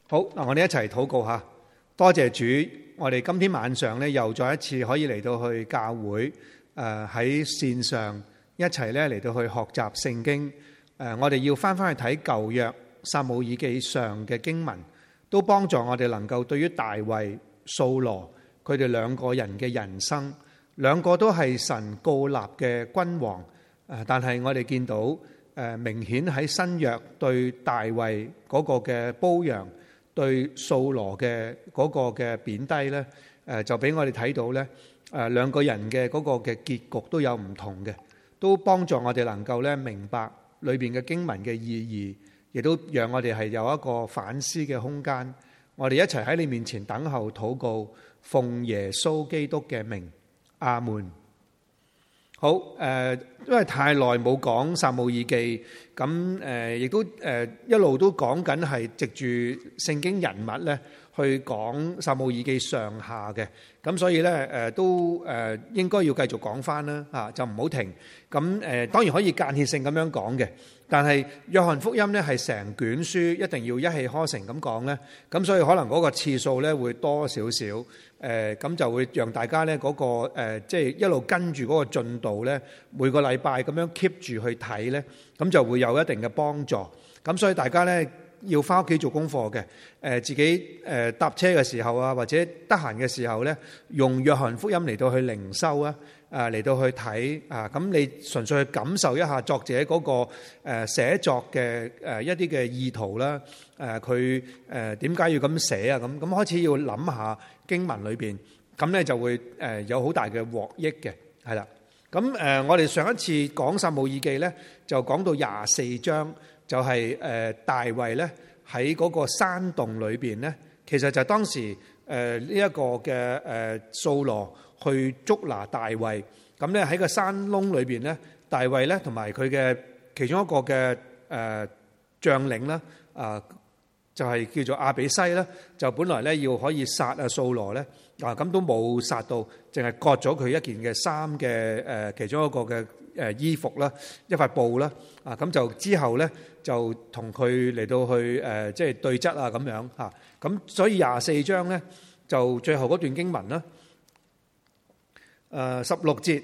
好，嗱，我哋一齊禱告下。多謝主，我哋今天晚上咧又再一次可以嚟到去教會，喺線上一齊咧嚟到去學習聖經。我哋要翻去睇舊約撒母耳記上嘅經文，都幫助我哋能夠對於大衛、掃羅佢哋兩個人嘅人生，兩個都係神膏立嘅君王。但係我哋見到明顯喺新約對大衛嗰個嘅褒揚，對掃羅嘅嗰個嘅貶低咧，就俾我哋睇到咧，兩個人嘅嗰個嘅結局都有唔同嘅，都幫助我哋能夠咧明白裏邊嘅經文嘅意義，亦都讓我哋係有一個反思嘅空間。我哋一齊喺你面前等候禱告，奉耶穌基督嘅名，阿門。好，因為太耐冇講撒母耳記，咁亦都一路都講緊係藉住聖經人物咧去講撒母耳記上下嘅，咁所以咧都應該要繼續講翻啦，嚇就唔好停。咁當然可以間歇性咁樣講嘅，但係約翰福音咧係成卷書一定要一氣呵成咁講咧，咁所以可能嗰個次數咧會多少少，咁就會讓大家咧嗰個即係一路跟住嗰個進度咧，每個禮拜咁樣 keep 住去睇咧，咁就會有一定嘅幫助。咁所以大家咧要翻屋企做功課嘅，自己搭車嘅時候啊，或者得閒嘅時候咧，用約翰福音嚟到去靈修啊，嚟到去睇啊，咁你純粹去感受一下作者嗰個寫作嘅一啲嘅意圖啦，佢點解要咁寫啊？咁開始要諗下經文裏邊，咁咧就會有好大嘅獲益嘅，係啦。咁我哋上一次講撒母耳記咧，就講到24章。就係大衛咧喺嗰個山洞裏邊咧，其實就當時呢一個嘅掃羅去捉拿大衛，咁咧喺個山窿裏邊咧，大衛咧同埋佢嘅其中一個嘅將領啦，就係叫做亞比篩啦，就本來咧要可以殺啊掃羅咧，咁都冇殺到，淨係割咗佢一件嘅衫嘅其中一個嘅衣服啦，一塊布啦，咁就之後咧就同佢嚟到去即係對質啊咁樣嚇，咁所以24章咧就最後嗰段經文啦，16節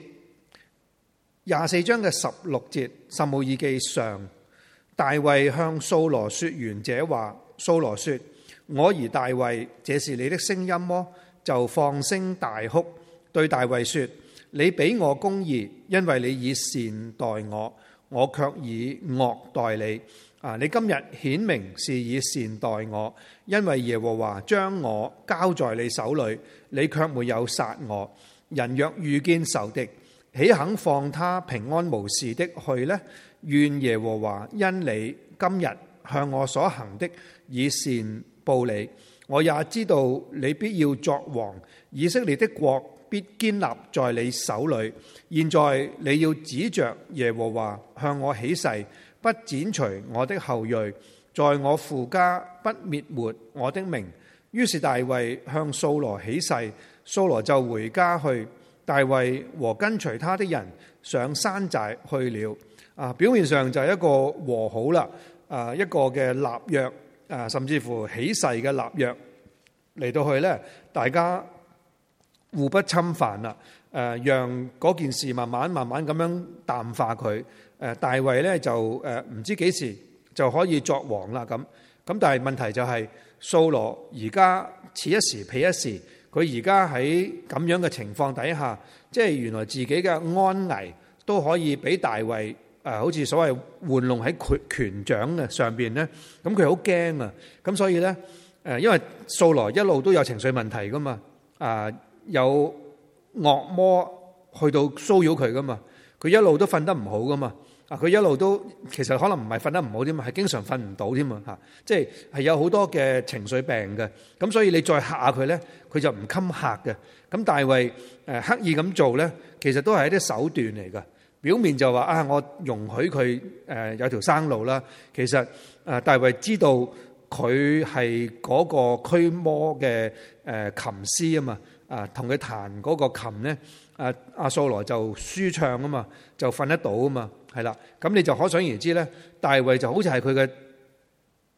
24章嘅16節，撒母耳記上，大衛向掃羅說完這話，掃羅說：我兒大衛，這是你的聲音麼？就放聲大哭，對大衛說：你比我公義，因為你以善待我，我卻以惡待你。你今日顯明是以善待我，因為耶和華將我交在你手裏，你卻沒有殺我。人若遇見仇敵，豈肯放他平安無事的去呢？願耶和華因你今日向我所行的以善報你。我也知道你必要作王，以色列的國必堅立在你手裏。現在你要指着耶和華向我起誓，不剪除我的後裔，在我父家不滅沒我的名。於是大衛向掃羅起誓，掃羅就回家去。大衛和跟隨他的人上山寨去了。表面上就係一個和好啦，一個嘅立約。甚至乎起誓嘅立約嚟到去咧，大家互不侵犯啦。讓嗰件事慢慢咁樣淡化佢。大衛咧就唔知幾時就可以作王啦咁。但係問題就係掃羅而家此一時彼一時，佢而家喺咁樣嘅情況底下，即係原來自己嘅安危都可以俾大衛。好似所謂玩弄喺權掌嘅上邊咧，咁佢好驚啊！咁所以咧，因為掃羅一路都有情緒問題噶嘛，有惡魔去到騷擾佢噶嘛，佢一路都瞓得唔好噶嘛，佢一路都其實可能唔係瞓得唔好添嘛，係經常瞓唔到添嘛嚇，即係有好多嘅情緒病嘅，咁所以你再嚇下佢咧，佢就唔襟嚇嘅。咁大衛刻意咁做咧，其實都係一啲手段嚟㗎。表面就話我容許佢有條生路啦。其實大衛知道佢係嗰個驅魔嘅琴師啊嘛，同佢彈嗰個琴咧，阿掃羅就舒暢啊嘛，就瞓得到啊嘛，係啦。咁你就可想而知咧，大衛就好似係佢嘅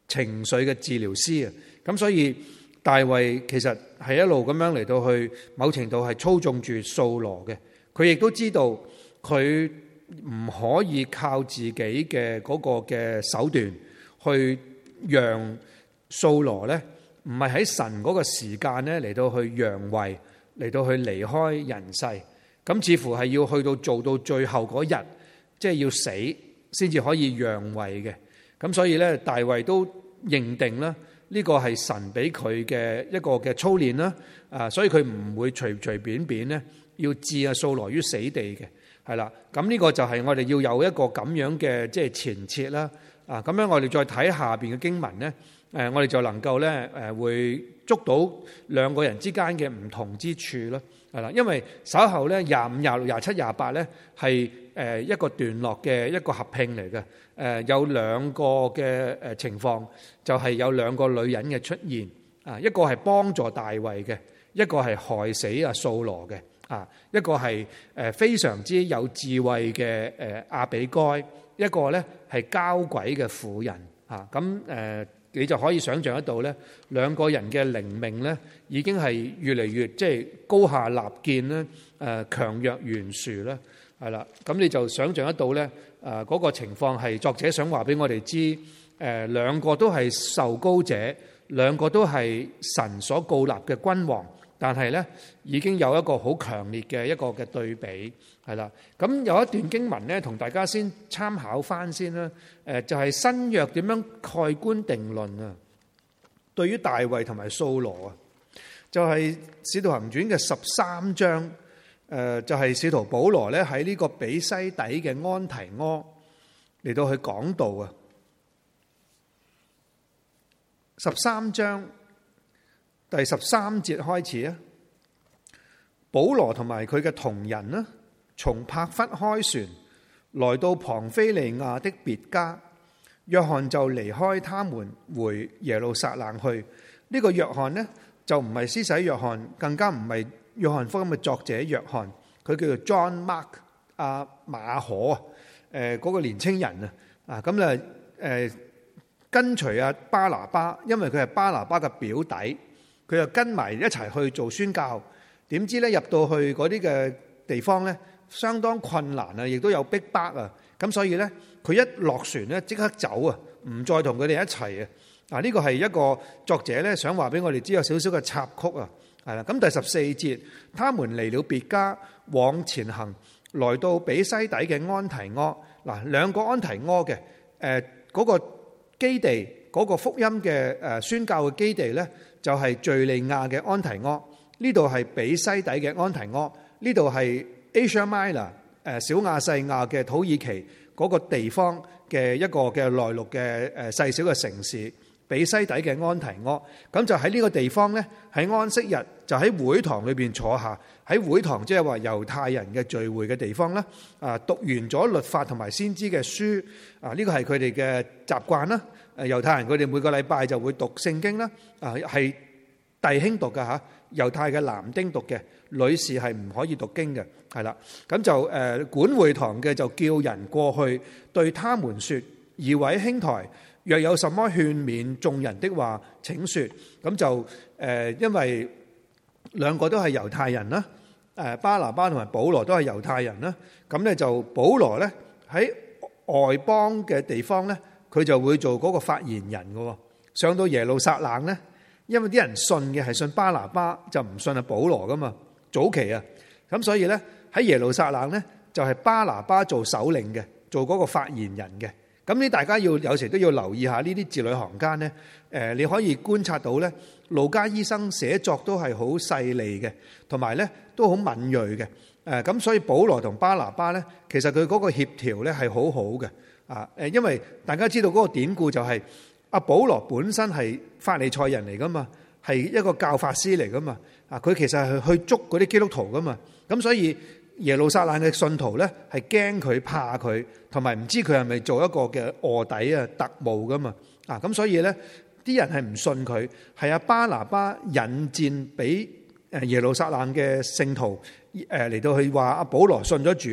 情緒嘅治療師啊。咁所以大衛其實係一路咁樣嚟到去某程度係操縱住掃羅嘅。佢亦都知道佢唔可以靠自己嘅嗰個嘅手段去讓掃羅咧，唔係喺神嗰個時間咧嚟到去讓位，嚟到去離開人世。咁似乎係要去到做到最後嗰日，即係要死先至可以讓位嘅。咁所以咧，大衛都認定啦，呢個係神俾佢嘅一個嘅操練啦。所以佢唔會隨隨便便咧要置掃羅於死地嘅，係啦。咁呢個就係我哋要有一個咁樣嘅即係前設啦。咁樣我哋再睇下邊嘅經文咧，我哋就能夠咧會捉到兩個人之間嘅唔同之處咯，係啦。因為稍後咧25、26、27、28咧係一個段落嘅一個合併嚟嘅，有兩個嘅情況，就係有兩個女人嘅出現，一個係幫助大衛嘅，一個係害死掃羅嘅，一個係非常之有智慧嘅亞比該，一個咧係交鬼嘅婦人，咁你就可以想象得到咧，兩個人嘅靈命咧已經係越嚟越即係高下立見咧，強弱懸殊啦，係啦。咁你就想象得到咧，嗰個情況係作者想話俾我哋知，兩個都係受膏者，兩個都係神所膏立嘅君王，但係咧已經有一個好強烈嘅一個嘅對比，係啦。咁有一段經文咧，同大家先參考翻先啦。就係新約點樣蓋棺定論啊？對於大衛同埋掃羅啊，就係使徒行傳嘅13章，就係使徒保羅咧喺呢個比西底嘅安提阿嚟到去講道啊。13章第13節開始啊，保羅同埋佢嘅同人呢，從帕弗開船來到龐菲利亞的別家，約翰就離開他們回耶路撒冷去。呢個約翰呢，就唔係施洗約翰，更加唔係約翰福音嘅作者約翰，佢叫做 John Mark 馬可嗰個年青人啊，咁咧跟隨巴拿巴，因為佢係巴拿巴嘅表弟，佢就跟埋一齊去做宣教。點知咧入到去嗰啲嘅地方咧，相當困難啊，亦都有逼迫啊。咁所以咧，佢一落船咧即刻走啊，唔再同佢哋一齊啊。呢個係一個作者咧想話俾我哋知有少少嘅插曲啊。係啦，咁第14節，他們離了別家，往前行，來到比西底嘅安提阿。嗱，兩個安提阿嘅嗰個基地，嗰個福音嘅宣教嘅基地咧，就係敘利亞嘅安提阿。呢度係比西底嘅安提阿，呢度係 Asia Minor 小亞細亞嘅土耳其嗰個地方嘅一個嘅內陸嘅細小嘅城市，比西底嘅安提阿。咁就喺呢個地方咧，喺安息日就喺會堂裏邊坐下，喺會堂即係話猶太人嘅聚會嘅地方啦。讀完咗律法同埋先知嘅書，呢個係佢哋嘅習慣啦。猶太人佢哋每個禮拜就會讀聖經啦。係弟兄讀嘅嚇，猶太嘅男丁讀嘅，女士係唔可以讀經嘅，係啦。咁就管會堂嘅就叫人過去對他們説：二位兄台，若有什麼勸勉眾人的話，請説。咁就因為兩個都係猶太人啦，巴拿巴同埋保羅都係猶太人啦。咁咧就保羅咧喺外邦嘅地方咧，佢就會做嗰個發言人嘅。上到耶路撒冷咧，因為啲人信嘅係信巴拿巴，就唔信保羅噶嘛。早期啊，咁所以咧喺耶路撒冷咧就係巴拿巴做首領嘅，做嗰個發言人嘅。咁呢，大家有時都要留意下呢啲字裏行間咧。你可以觀察到咧，路加醫生寫作都係好細膩嘅，同埋咧都好敏銳嘅。咁所以保羅同巴拿巴咧，其實佢嗰個協調咧係好好嘅。因為大家知道嗰個典故就係阿保羅本身係法利賽人嚟噶嘛，係一個教法師嚟噶嘛。佢其實係去捉嗰啲基督徒噶嘛。咁所以耶路撒冷嘅信徒咧係驚佢怕佢，同埋唔知佢係咪做一個嘅臥底特務噶嘛。咁所以咧啲人係唔信佢，係阿巴拿巴引薦俾耶路撒冷嘅聖徒嚟到去話阿保羅信咗主，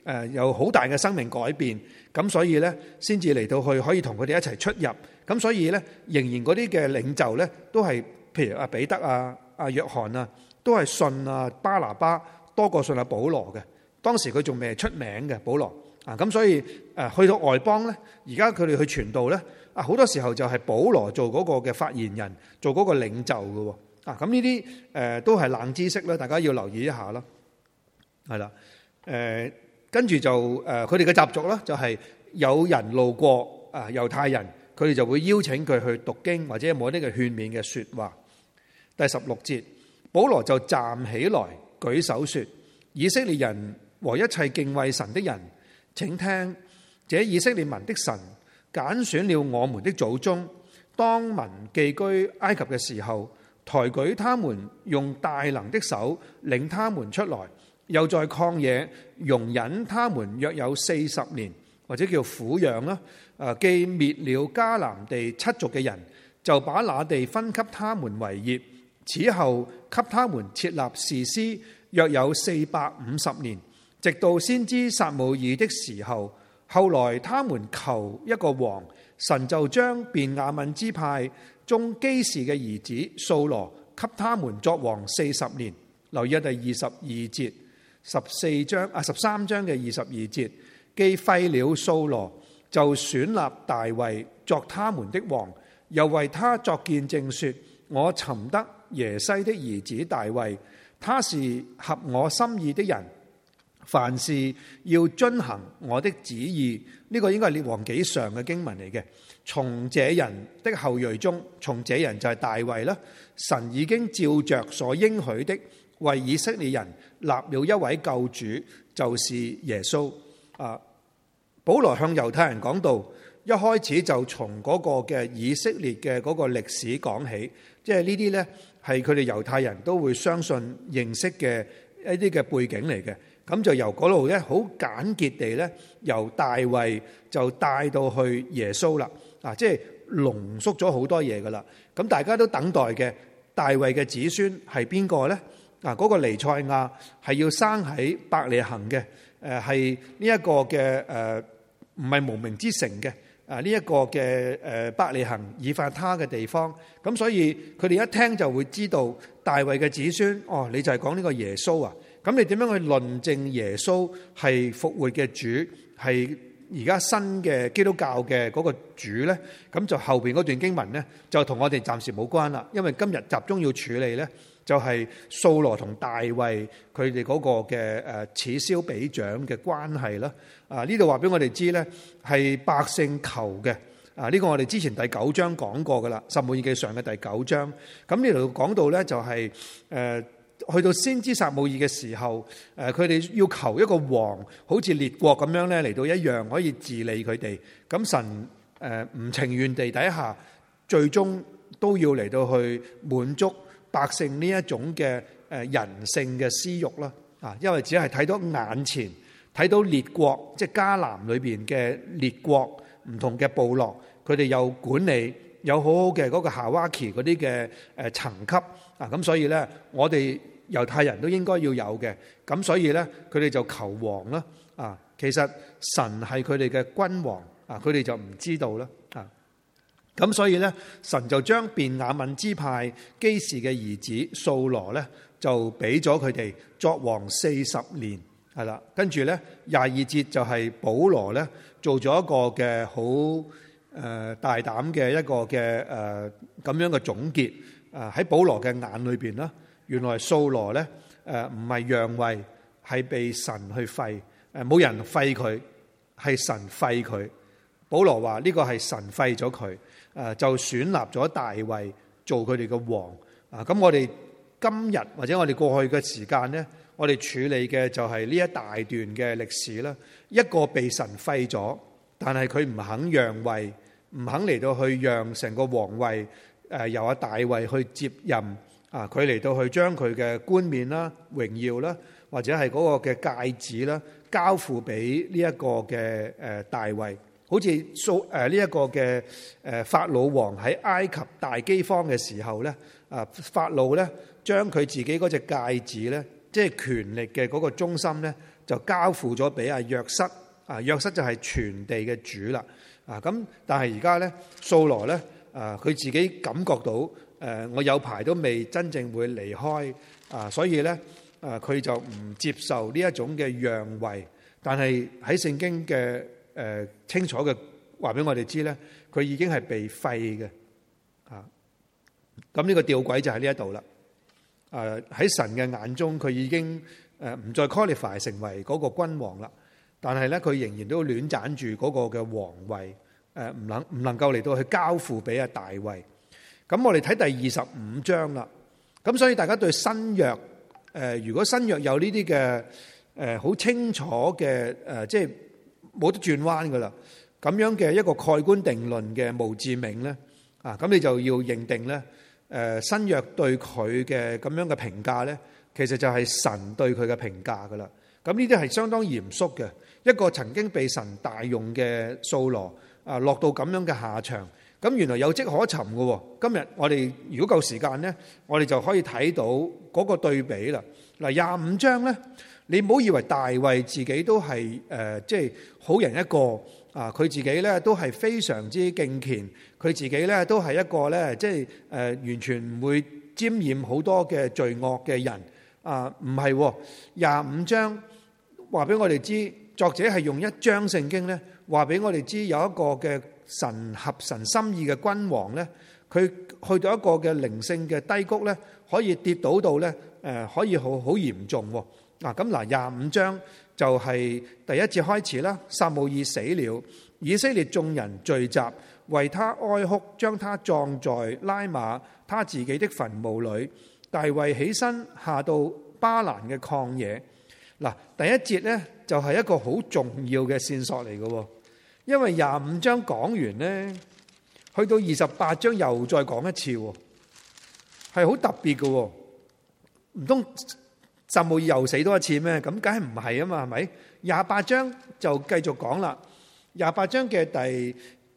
有好大嘅生命改變，咁所以咧先至嚟到去可以同佢哋一齊出入。咁所以咧仍然嗰啲嘅領袖咧都係譬如阿彼得啊、阿約翰啊，都係信啊巴拿巴多過信阿保羅嘅。當時佢仲未出名嘅保羅啊，咁所以去到外邦咧，而家佢哋去傳道咧啊，好多時候就係保羅做嗰個嘅發言人，做嗰個領袖嘅啊。咁呢啲都係冷知識啦，大家要留意一下啦。係啦，跟住就佢哋嘅習俗啦，就係有人路過啊，猶太人佢哋就會邀請佢去讀經或者有冇啲嘅勸勉嘅說話。第16節，保羅就站起來舉手說：以色列人和一切敬畏神的人，請聽，這以色列民的神揀選了我們的祖宗，當民寄居埃及嘅時候，抬舉他們，用大能的手領他們出來，又在曠野容忍他們約有40年，或者叫撫養啦。既滅了迦南地7族嘅人，就把那地分給他們為業。此後給他們設立士師，約有450年，直到先知撒母耳的時候。後來他們求一個王，神就將便雅憫支派中基士嘅兒子掃羅給他們作王40年。留意第22節13章嘅22節，既廢了掃羅，就選立大衛作他們的王，又為他作見證說：我尋得耶西的兒子大衛，他是合我心意的人，凡事要遵行我的旨意。呢個應該係列王紀上嘅經文嚟嘅。從這人的後裔中，從這人就係大衛啦。神已經照着所應許的，為以色列人立了一位救主，就是耶穌。保羅向猶太人講道，一開始就從嗰個嘅以色列嘅嗰個歷史講起，即係呢啲呢係佢哋猶太人都會相信認識嘅一啲嘅背景嚟嘅。咁就由嗰度咧，好簡潔地咧，由大衛就帶到去耶穌啦。即係濃縮咗好多嘢噶啦。咁大家都等待嘅大衛嘅子孫係邊個咧？嗰個彌賽亞係要生喺伯利恆嘅，係呢一個嘅唔係無名之城嘅。呢一個嘅伯利恆以法他嘅地方。咁所以佢哋一聽就會知道大衛嘅子孫。哦，你就係講呢個耶穌啊？咁你點樣去論證耶穌係復活嘅主，係而家新嘅基督教嘅嗰個主呢？咁就後邊嗰段經文呢，就同我哋暫時冇關啦。因為今日集中要處理呢，就係掃羅同大衛佢哋嗰個嘅此消彼長嘅關係啦。呢度話俾我哋知呢，係百姓求嘅。呢個我哋之前第9章講過噶啦，撒母耳記上嘅第9章。咁呢度講到呢，就係去到先知撒母耳嘅時候，佢哋要求一個王，好似列國咁樣咧嚟到一樣可以治理佢哋。咁神唔情願地底下，最終都要嚟到去滿足百姓呢一種嘅人性嘅私欲啦。因為只係睇到眼前，睇到列國，即係迦南裏邊嘅列國唔同嘅部落，佢哋有管理，有好好嘅嗰個夏娃期嗰啲嘅層級。咁所以咧，我哋猶太人都應該要有嘅。咁所以咧，佢哋就求王啦。其實神係佢哋嘅君王。佢哋就唔知道啦。咁所以咧，神就將便雅憫支派基士嘅兒子掃羅咧，就俾咗佢哋作王40年。係啦，跟住咧22節就係保羅咧做咗一個嘅好大膽嘅一個嘅咁樣嘅總結。喺保羅嘅眼裏邊啦，原來掃羅咧唔係讓位，係被神去廢。冇人廢佢，係神廢佢。保羅話呢個係神廢咗佢，就選立咗大衛做佢哋嘅王。咁我哋今日或者我哋過去嘅時間咧，我哋處理嘅就係呢一大段嘅歷史啦。一個被神廢咗，但係佢唔肯讓位，唔肯嚟到去讓成個王位由阿大衛去接任。佢嚟到去將佢嘅冠冕啦、榮耀啦，或者係嗰個嘅戒指啦，交付俾呢一個嘅大衛。好似呢一個嘅法老王喺埃及大饑荒嘅時候咧，法老咧將佢自己嗰隻戒指咧，即係權力嘅嗰個中心咧， 就交付咗俾阿約瑟。約瑟就係全地嘅主啦。咁但係而家咧，掃羅咧，佢自己感覺到我有排都未真正會離開，所以咧佢就唔接受呢一種嘅讓位。但係喺聖經嘅清楚嘅話俾我哋知咧，佢已經係被廢嘅。咁呢個吊詭就喺呢一度啦。喺神嘅眼中，佢已經唔再 qualify 成為嗰個君王啦。但係咧，佢仍然都戀棧住嗰個嘅皇位，唔能夠嚟到去交付俾阿大衛。咁我哋睇第25章啦。咁所以大家對新約，如果新約有呢啲嘅好清楚嘅即係冇得轉彎噶啦，咁樣嘅一個蓋棺定論嘅墓誌銘咧，咁你就要認定咧，新約對佢嘅咁樣嘅評價咧，其實就係神對佢嘅評價噶啦。咁呢啲係相當嚴肅嘅。一個曾經被神大用嘅掃羅落到咁樣嘅下場，咁原來有跡可尋嘅。今日我哋如果夠時間呢，我哋就可以睇到嗰個對比啦。嗱，25章呢，你唔好以為大衛自己都係即係好人一個佢自己呢都係非常之敬虔，佢自己呢都係一個呢，即係完全唔會沾染好多嘅罪惡嘅人唔係。25章話俾我哋知。作者係用一章聖經咧，話俾我哋知有一個嘅神合神心意嘅君王咧，佢去到一個嘅靈性嘅低谷咧，可以跌倒到咧，可以好嚴重。咁25章就係第一節開始啦。撒母耳死了，以色列眾人聚集，為他哀哭，將他葬在拉馬他自己的墳墓裏。大衛起身下到巴蘭嘅曠野。嗱，第一節咧就係一個好重要嘅線索嚟嘅，因為25章講完咧，去到28章又再講一次，係好特別嘅。唔通撒母耳又死多一次咩？咁梗係唔係啊嘛，係咪？28章就繼續講啦。28章嘅第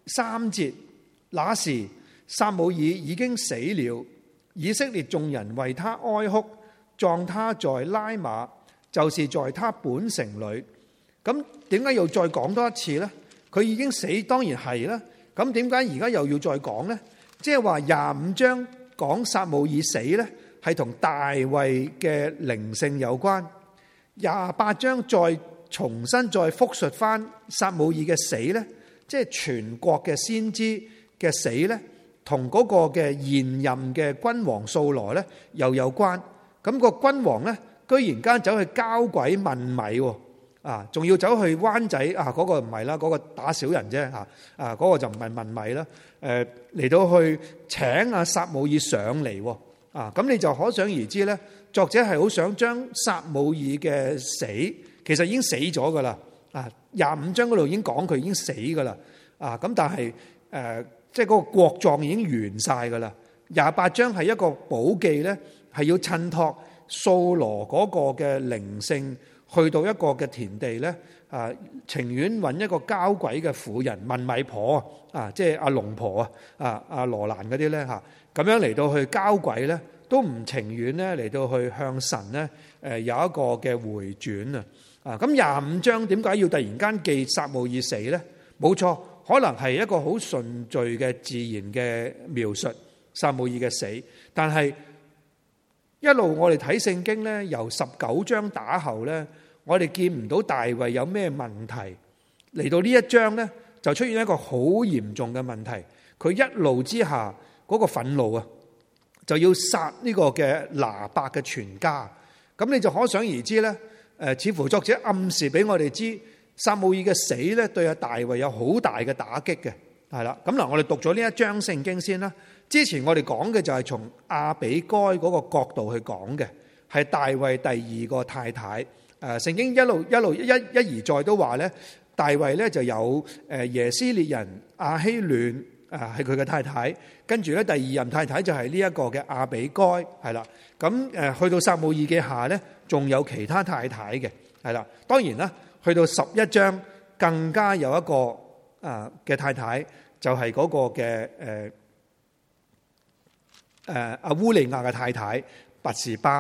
3節，那時撒母耳已經死了，以色列眾人為他哀哭，葬他在拉馬，就是在他本城裏。咁點解又再講多一次呢？佢已經死，當然係啦。咁點解而家又要再講呢？即係話25章講撒母耳死呢，係同大衛嘅靈性有關。28章再重新再複述翻撒母耳嘅死呢，即係全國嘅先知嘅死呢，同嗰個嘅現任嘅君王掃羅呢又有關。咁個君王呢，居然間走去交鬼問米，仲要走去灣仔嗰個唔係啦，嗰個打小人啫，嗰個就唔係問米啦。嚟到去請阿撒母耳上嚟，咁你就可想而知咧，作者係好想將撒母耳嘅死，其實已經死咗噶啦。25章嗰度已經講佢已經死噶啦。咁但係即係嗰個國葬已經完晒噶啦。28章係一個寶記咧，係要襯托掃羅嗰個嘅靈性去到一個嘅田地咧，情願揾一個交鬼嘅婦人問米婆即係阿龍婆阿羅蘭嗰啲咧咁樣嚟到去交鬼咧，都唔情願咧嚟到去向神咧有一個嘅回轉咁25章點解要突然間記撒母耳死咧？冇錯，可能係一個好順序嘅自然嘅描述撒母耳嘅死，但係一路我哋睇聖經咧，由19章打後咧，我哋見唔到大衛有咩問題。嚟到呢一章咧，就出現一個好嚴重嘅問題。佢一怒之下嗰個憤怒就要殺呢個嘅拿伯嘅全家。咁你就可想而知咧，似乎作者暗示俾我哋知，撒母耳嘅死咧對阿大衛有好大嘅打擊嘅，係啦。咁嗱，我哋讀咗呢一章聖經先啦。之前我哋講嘅就係從亞比該嗰個角度去講嘅，係大衛第二個太太。聖經一而再都話咧，大衛咧就有耶斯列人亞希暖係佢嘅太太，跟住咧第二任太太就係呢一個嘅亞比該，係啦。咁去到撒母耳記下咧，仲有其他太太嘅，係啦。當然啦，去到11章更加有一個嘅太太，就係嗰個嘅阿烏利亞嘅太太拔示巴啦。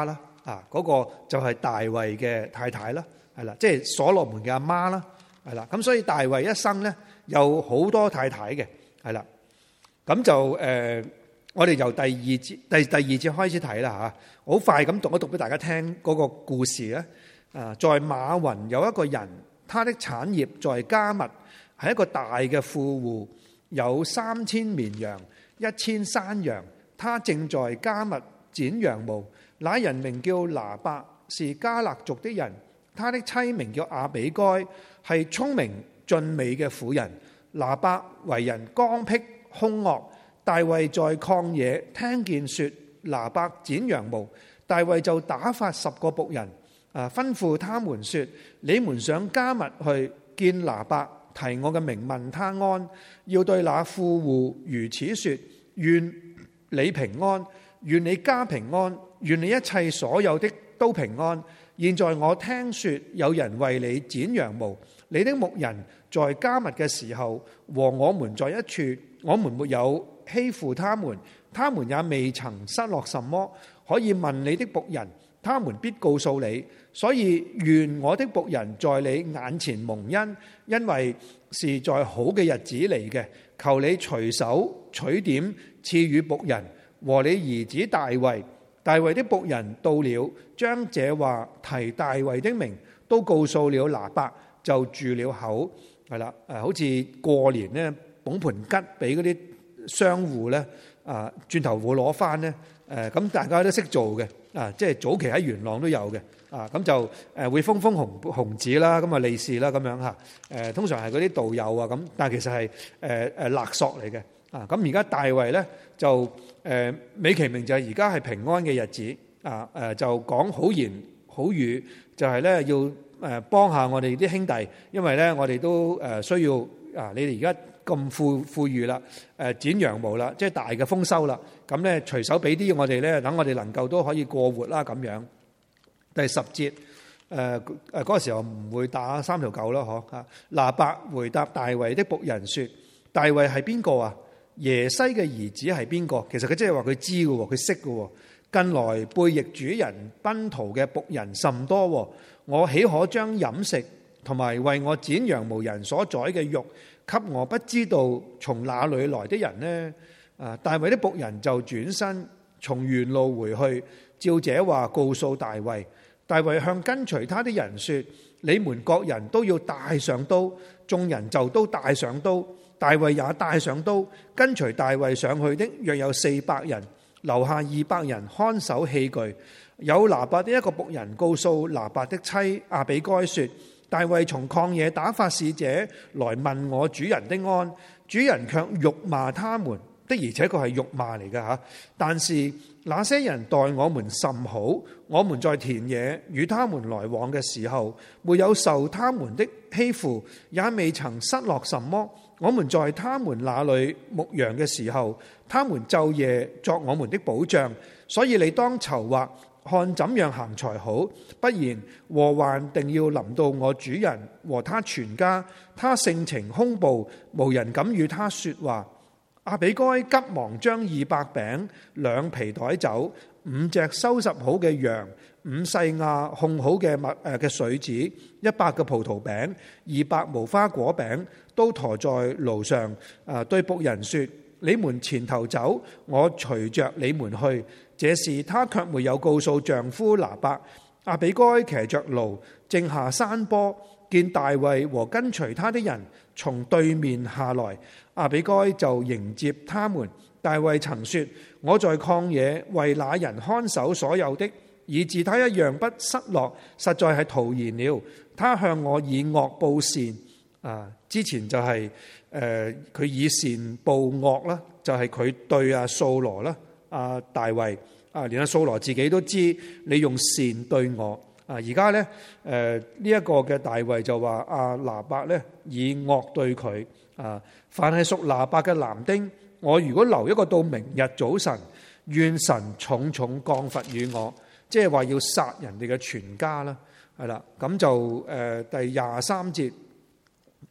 嗰個就係大衛嘅太太啦，係啦，即係所羅門嘅阿媽啦，係啦。咁所以大衛一生咧有好多太太嘅，係啦。咁就我哋由第二節開始睇啦嚇，好快咁讀一讀俾大家聽嗰個故事咧。在馬雲有一個人，他的產業在迦密，係一個大嘅富戶，有3000綿羊，1000山羊。他正在迦密剪羊毛。那人名叫拿伯，是迦勒族的人。他的妻名叫亞比該，係聰明俊美嘅婦人。拿伯為人剛愎兇惡。大衛在曠野聽見說拿伯剪羊毛，大衛就打發10個僕人，吩咐他們說：你們上迦密去見拿伯，提我嘅名問他安。要對那富戶如此說：願你平安，願你家平安，願你一切所有的都平安。現在我聽說有人為你剪羊毛，你的牧人在迦密嘅時候和我們在一處，我們沒有欺負他們，他們也未曾失落什麼。可以問你的僕人，他們必告訴你。所以願我的僕人在你眼前蒙恩，因為是在好嘅日子嚟嘅。求你隨手取點賜予僕人和你兒子大衛。大衛的僕人到了，將這話提大衛的名，都告訴了拿伯，就住了口。係啦，好似過年咧，捧盤吉俾嗰啲商戶咧，轉頭會攞翻咧。咁大家都識做嘅，即係早期喺元朗都有嘅。咁就會封紅紙啦，咁利是啦，咁樣嚇。通常係嗰啲道友啊咁，但係其實係勒索嚟嘅。咁而家大衛咧就美其名就係而家係平安嘅日子。就講好言好語，就係咧要幫下我哋啲兄弟，因為咧我哋都需要你哋而家咁富裕啦，剪羊毛啦，即係大嘅豐收啦。咁咧隨手俾啲我哋咧，等我哋能夠都可以過活啦咁樣。第10節嗰個時候唔會打3條狗咯，嗬。拿伯回答大衛的僕人說：大衛係邊個啊？耶西嘅兒子係邊個？其實佢即係話佢知嘅，佢識嘅。近來背逆主人奔逃嘅僕人甚多，我豈可將飲食同埋為我剪羊毛人所宰嘅肉給我不知道從哪裏來的人呢？大衛的僕人就轉身從原路回去，照這話告訴大衛。大衛向跟隨他的人說：你們各人都要帶上刀。眾人就都帶上刀，大衛也帶上刀。跟隨大衛上去的約有400人，留下200人看守器具。有拿伯的一個僕人告訴拿伯的妻亞比該說：大衛從曠野打發使者來問我主人的安，主人卻辱罵他們。的而且確係辱罵嚟嘅吓，但是那些人待我們甚好，我們在田野與他們來往嘅時候，沒有受他們的欺負，也未曾失落什麼。我們在他們那裏牧羊嘅時候，他們晝夜作我們的保障。所以你當籌劃，看怎樣行才好，不然禍患定要臨到我主人和他全家。他性情兇暴，無人敢與他說話。亞比該急忙將200餅、2皮袋酒、5隻收拾好嘅羊、5細亞烘好嘅水子、100個葡萄餅、200無花果餅，都馱在驢上。對僕人說：你們前頭走，我隨着你們去。這事她卻沒有告訴丈夫拿伯。亞比該騎着驢，正下山坡，見大衛和跟隨他的人從對面下來，亞比該就迎接他們。大衛曾說：我在曠野為那人看守所有的，以致他一樣不失落，實在係徒然了。他向我以惡報善，之前就係佢以善報惡啦，就係佢對掃羅啦，大衛連掃羅自己都知你用善對我。而家咧，呢一個嘅大衛就話拿伯咧以惡對佢。凡係屬拿伯嘅男丁，我如果留一個到明日早晨，願神重重降罰與我，即係話要殺人哋嘅全家啦，係啦。咁就第23節，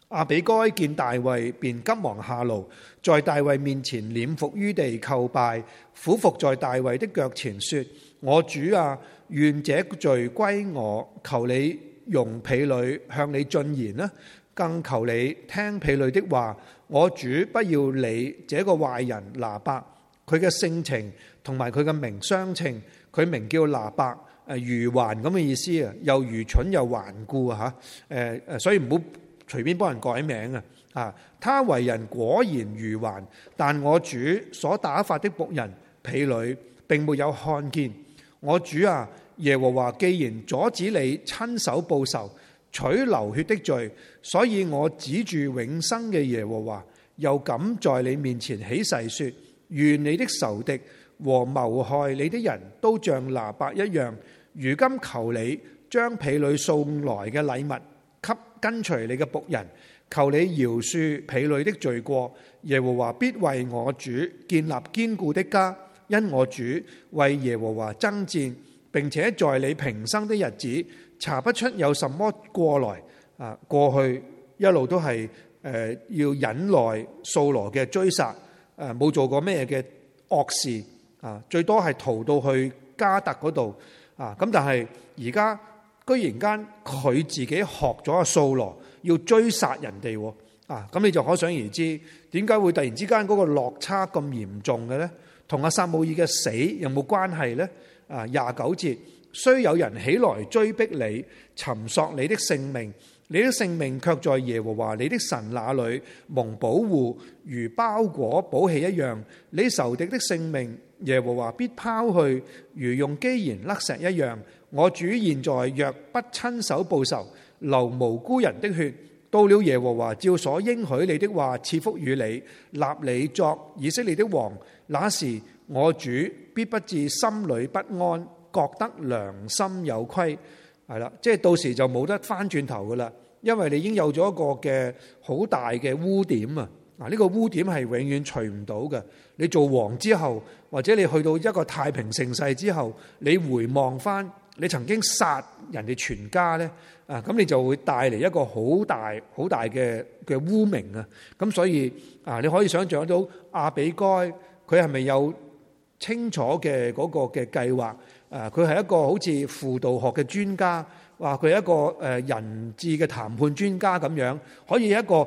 亞比該見大衛，便急忙下驢，在大衛面前臉伏於地叩拜，俯伏在大衛的腳前說：我主啊，願這罪歸我，求你容婢女向你進言啦，更求你聽婢女的話。我主不要理這個壞人拿伯，佢嘅性情同埋佢嘅名相稱，佢名叫拿伯，愚頑咁嘅意思啊，又愚蠢又頑固啊吓，所以唔好隨便幫人改名啊！他為人果然愚頑，但我主所打發的僕人婢女並沒有看見。我主啊，耶和華既然阻止你親手報仇，取流血的罪，所以我指住永生嘅耶和華，又敢在你面前起誓說：願你的仇敵和謀害你的人都像拿伯一樣。如今求你將婢女送來嘅禮物給跟隨你嘅僕人，求你饒恕婢女的罪過。耶和華必為我主建立堅固的家，因我主為耶和華爭戰，並且在你平生的日子查不出有什麼過來。過去一路都係要忍耐掃羅嘅追殺，冇做過咩嘅惡事，最多係逃到去加特嗰度，咁但係而家居然間佢自己學咗阿掃羅要追殺人哋，咁你就可想而知點解會突然之間嗰個落差咁嚴重嘅咧？同阿撒母耳嘅死有冇關係咧？29節，雖有人起來追逼你，尋索你的性命，你的性命卻在耶和華你的神那裏蒙保護，如包裹寶器一樣。你仇敵的性命，耶和華必拋去，如用機弦甩石一樣。我主現在若不親手報仇，流無辜人的血，到了耶和華照所應許你的話賜福與你，立你作以色列的王，那時我主必不至心裏不安，覺得良心有虧。係啦，即係到時就冇得翻轉頭噶啦，因為你已經有咗一個嘅好大嘅污點啊！呢個污點係永遠除唔到嘅。你做王之後，或者你去到一個太平盛世之後，你回望翻你曾經殺人哋全家咧，咁你就會帶嚟一個好大好大嘅污名啊！咁所以你可以想象到亞比該佢係咪有清楚嘅嗰個嘅計劃？佢係一個好似輔導學嘅專家，話佢係一個人質嘅談判專家咁樣，可以一個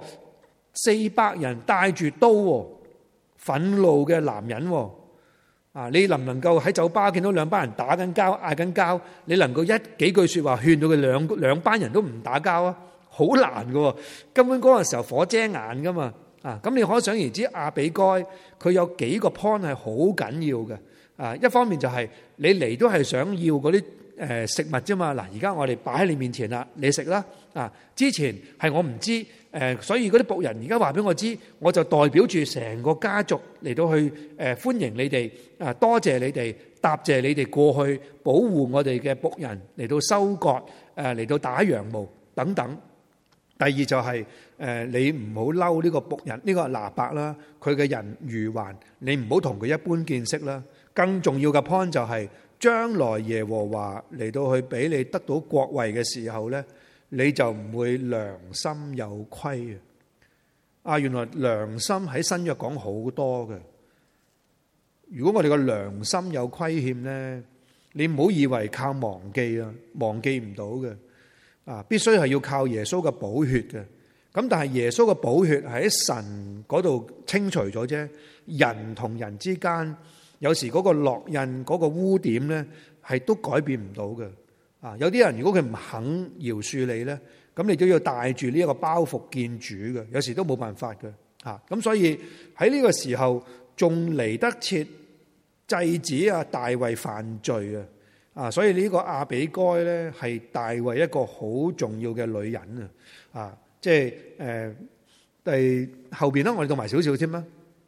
400人帶住刀，憤怒嘅男人，你能唔能夠喺酒吧見到兩班人打緊交、嗌緊交，你能夠幾句說話勸到佢兩班人都唔打交啊？好難㗎，根本嗰個時候火遮眼噶嘛。咁你可想而知亞比該佢有幾個 point 係好緊要嘅。一方面就係你嚟都係想要嗰啲食物啫嘛。嗱，而家我哋擺喺你面前啦，你食啦。之前係我唔知，所以嗰啲僕人而家話俾我知，我就代表住成個家族嚟到去歡迎你哋，多謝你哋，答謝你哋過去保護我哋嘅僕人嚟到收割，嚟到打羊毛等等。第二就係你唔好嬲呢個僕人，呢個拿伯啦，佢嘅人愚頑，你唔好同佢一般見識啦。更重要嘅 point 就係將來耶和華嚟到去俾你得到國位嘅時候咧，你就唔會良心有虧啊！原來良心喺新約講好多嘅。如果我哋個良心有虧欠咧，你唔好以為靠忘記啊，忘記唔到嘅必須係要靠耶穌嘅寶血嘅。咁但係耶穌嘅寶血係喺神嗰度清除咗啫，人同人之間。有時嗰個烙印嗰個污點咧，係都改變唔到嘅。有啲人如果佢唔肯饒恕你咧，咁你都要帶住呢一個包袱見主嘅。有時都冇辦法嘅。咁所以喺呢個時候仲嚟得切制止大衛犯罪啊！所以呢個亞比該咧係大衛一個好重要嘅女人啊！即係第後邊咧，我哋讀埋少少添啦。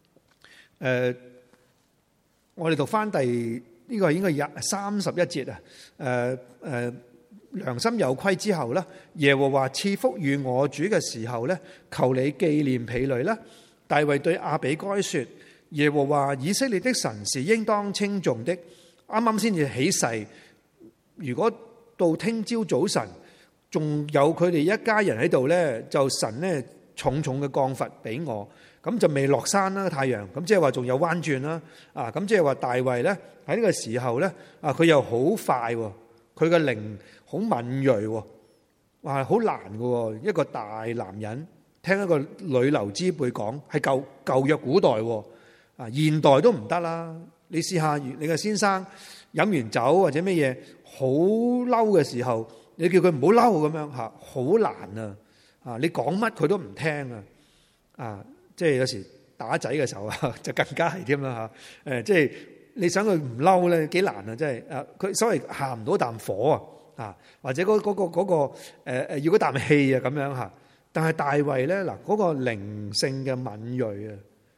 我哋讀翻呢個應該31節啊！良心有虧之後咧，耶和華賜福與我主嘅時候咧，求你紀念婢女啦。大衛對亞比該說：耶和華以色列的神是應當稱頌的。啱啱先至起誓，如果到聽朝早晨仲有佢哋一家人喺度咧，就神咧重重嘅降罰俾我，咁就未落山啦太陽，咁即係話仲有彎轉啦，咁即係話大衛咧喺呢個時候咧，佢又好快，佢嘅靈好敏銳，哇，好難嘅，一個大男人聽一個女流之輩講，係舊約古代，現代都唔得啦。你試下你嘅先生飲完酒或者乜嘢好嬲嘅時候，你叫佢唔好嬲咁樣吓，好難啊！你講乜佢都唔聽啊！即係有時打仔嘅時候就更加係添啦吓。即係你想佢唔嬲咧，幾難啊！即係佢所謂下唔到啖火啊，或者嗰個要嗰啖氣啊咁樣吓。但係大衛咧嗱，嗰個靈性嘅敏銳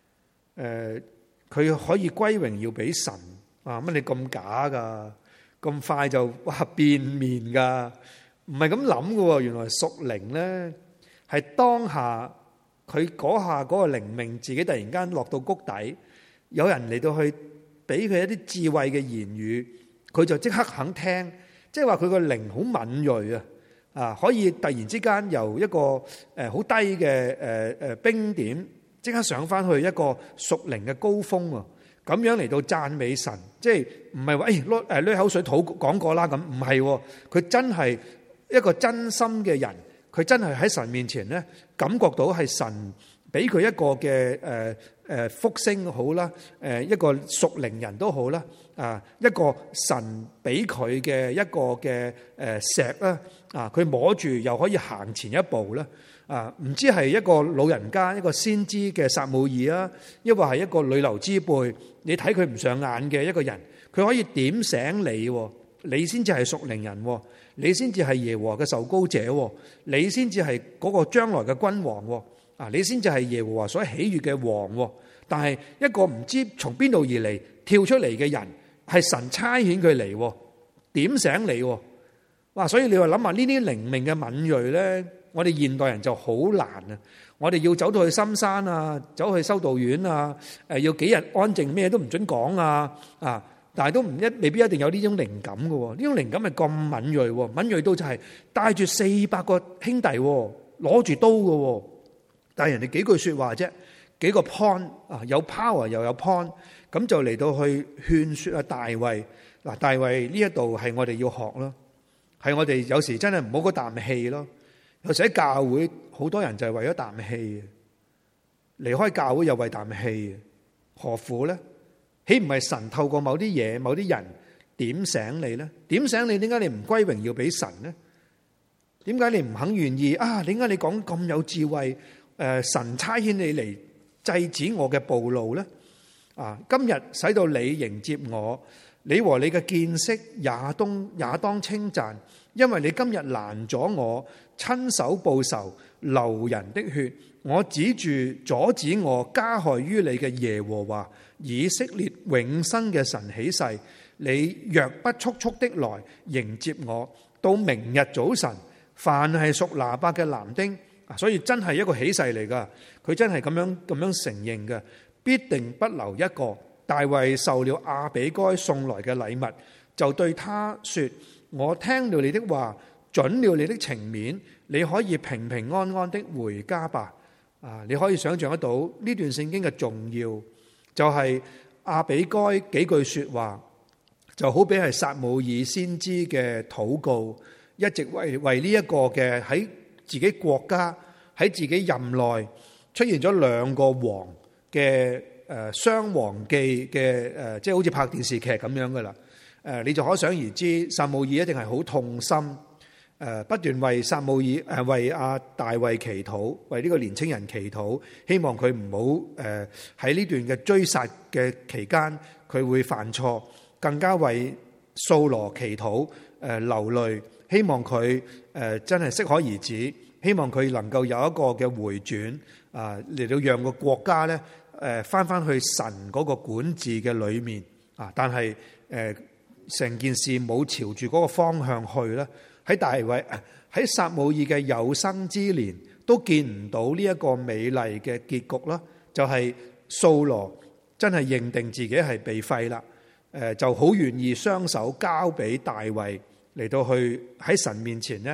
佢可以歸榮耀俾神啊！乜你咁假噶？咁快就變面噶？唔係咁諗噶，原來屬靈咧係當下佢嗰下嗰個靈命自己突然間落到谷底，有人嚟到去俾佢一啲智慧嘅言語，佢就即刻肯聽，即係話佢個靈好敏銳啊！可以突然之間由一個好低嘅冰點，即刻上翻去一個屬靈嘅高峰啊！咁樣嚟到讚美神，即係唔係話攞口水吐講過啦咁，唔係，佢真係一個真心嘅人，佢真係喺神面前咧，感覺到係神俾佢一個嘅福星好啦，一個屬靈人都好啦，一個神俾佢嘅一個嘅石啦，佢摸住又可以行前一步啦。唔知係一個老人家，一個先知嘅撒母耳啊，抑或係一個女流之輩，你睇佢唔上眼嘅一個人，佢可以點醒你，你先至係屬靈人，你先至係耶和華嘅受膏者，你先至係嗰個將來嘅君王，你先至係耶和華所喜悅嘅王。但係一個唔知從邊度而嚟跳出嚟嘅人，係神差遣佢嚟點醒你。哇！所以你話諗下呢啲靈命嘅敏銳咧，我哋現代人就好難啊！我哋要走到去深山啊，走去修道院啊，要幾日安靜，咩都唔准講但係都未必一定有呢種靈感嘅。呢種靈感係咁敏銳，敏銳到就係帶住400個兄弟攞住刀嘅，但係人哋幾句說話啫，幾個 point 有 power 又有 point， 咁就嚟到去勸說大衛。嗱，大衛呢一度係我哋要學咯，係我哋有時真係唔好嗰啖氣咯。有時喺教會好多人就係為咗啖氣，離開教會又為啖氣，何苦咧？豈唔係神透過某啲嘢、某啲人點醒你咧？點醒你，點解你唔歸榮耀俾神咧？點解你唔肯願意啊？點解你講咁有智慧？神差遣你嚟制止我嘅暴怒咧？今日使到你迎接我，你和你嘅見識也當稱讚，因為你今日攔咗我，親手報仇，流人的血。我指住阻止我加害於你嘅耶和華以色列永生嘅神起誓，你若不速速的來迎接我，到明日早晨，凡係屬拿八嘅男丁，所以真係一個起誓嚟噶，佢真係咁樣承認嘅，必定不留一個。大衛受了亞比該送來嘅禮物，就對他說：我聽了你的話，准了你的情面，你可以平平安安的回家吧。你可以想象得到呢段聖經嘅重要，就係亞比該幾句說話，就好比係撒母耳先知嘅禱告，一直為呢一個嘅喺自己國家喺自己任內出現咗兩個王嘅雙王記嘅即係好似拍電視劇咁樣噶啦。你就可想而知，撒母耳一定係好痛心。不斷為撒母耳為大衛祈禱，為呢個年青人祈禱，希望佢唔好喺呢段嘅追殺嘅期間佢會犯錯，更加為掃羅祈禱流淚，希望佢真係適可而止，希望佢能夠有一個嘅回轉嚟到讓個國家咧翻翻去神嗰個管治嘅裏面但係成件事冇朝住嗰個方向去咧。喺大衛喺撒母耳嘅有生之年都見唔到呢一個美麗嘅結局啦，就係掃羅真係認定自己係被廢啦，就好願意雙手交俾大衛嚟到去喺神面前咧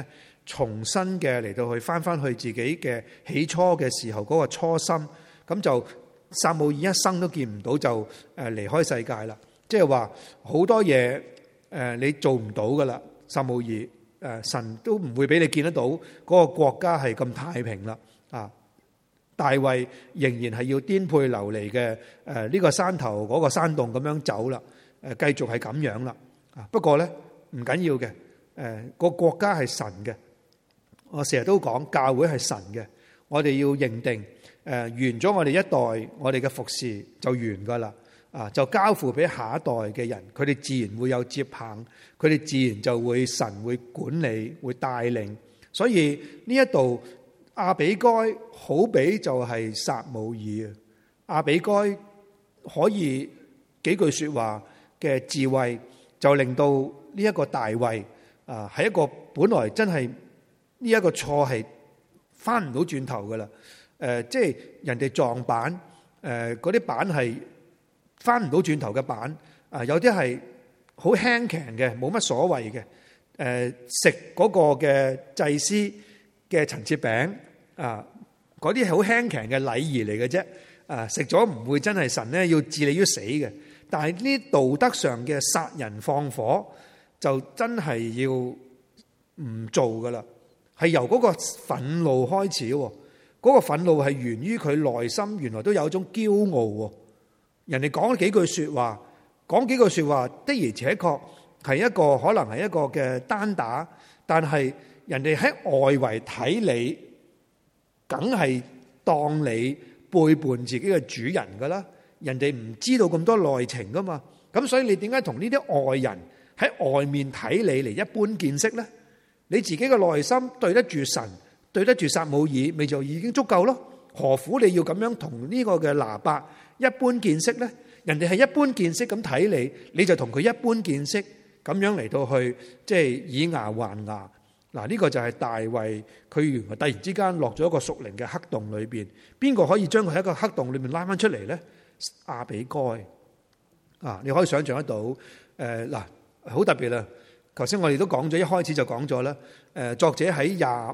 重新嘅嚟到去翻去自己嘅起初嘅時候嗰個初心，咁就撒母耳一生都見唔到就離開世界啦。即係話好多嘢你做唔到噶啦，撒母耳神都唔會俾你見得到嗰個國家係咁太平啦。大衛仍然係要顛沛流離嘅呢個山頭嗰個山洞咁樣走啦，繼續係咁樣啦。不過咧唔緊要嘅，個國家係神嘅。我成日都講教會係神嘅，我哋要認定完咗我哋一代我哋嘅服侍就完噶啦，就交付俾下一代嘅人，佢哋自然會有接棒，佢哋自然就會神會管理會帶領。所以呢一度亞比該好比就係撒母耳啊，亞比該可以幾句說話嘅智慧就令到呢一個大衛係一個本來真係呢一個錯係翻唔到轉頭噶啦，即係人哋撞板，嗰啲板係翻唔到轉頭嘅板，有啲係好輕強嘅，冇乜所謂嘅，食嗰個嘅祭司嘅陳設餅嗰啲係好輕強嘅禮儀嚟嘅啫，食咗唔會真係神咧要置你於死嘅，但係呢道德上嘅殺人放火就真係要唔做噶啦。係由嗰個憤怒開始，嗰個憤怒係源於佢內心原來都有一種驕傲。人哋講幾句說話，的而且確係一個可能係一個嘅單打，但係人哋喺外圍睇你，梗係當你背叛自己嘅主人噶啦。人哋唔知道咁多內情噶嘛，咁所以你點解同呢啲外人喺外面睇你嚟一般見識呢？你自己嘅內心對得住神，對得住撒母耳，咪就已經足夠咯。何苦你要咁樣同呢個嘅拿伯一般見識呢？人哋係一般見識咁睇你，你就同佢一般見識咁樣嚟到去，即係以牙還牙。嗱，呢個就係大衛，佢原來突然之間落咗一個屬靈嘅黑洞裏邊，邊個可以將佢喺一個黑洞裏面拉翻出嚟呢？亞比該你可以想象得到，嗱，好特別啦。頭先我哋都講咗，一開始就講咗啦。作者喺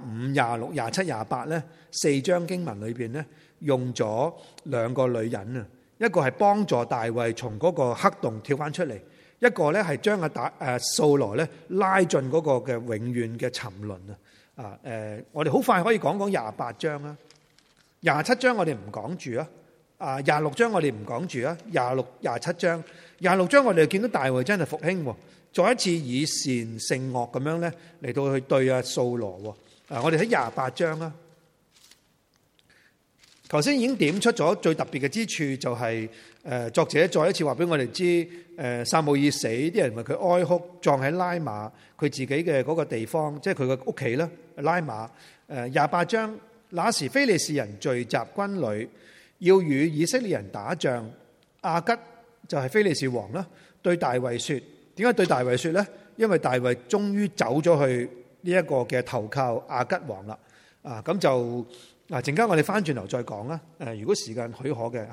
25、26、27、28咧4章經文裏邊咧，用咗兩個女人啊，一個係幫助大衛從嗰個黑洞跳翻出嚟，一個咧係將掃羅咧拉進嗰個嘅永遠嘅沉淪啊。我哋好快可以講講28章啦，27章我哋唔講住啊，26章我哋唔講住啊，26、27章，26章我哋見到大衛真係復興。再一次以善勝惡咁樣咧嚟到去對掃羅。我哋喺28章啦。頭先已經點出咗最特別嘅之處，就係作者再一次話俾我哋知，撒母耳死，啲人為佢哀哭，葬喺拉馬佢自己嘅嗰個地方，即係佢嘅屋企啦。拉馬28章，那時非利士人聚集軍旅，要與以色列人打仗。亞吉就係非利士王啦，對大衛說。點解對大衛說呢？因為大衛終於走咗去呢一個嘅投靠亞吉王啦。咁就陣間我哋翻轉頭再講啦。如果時間許可嘅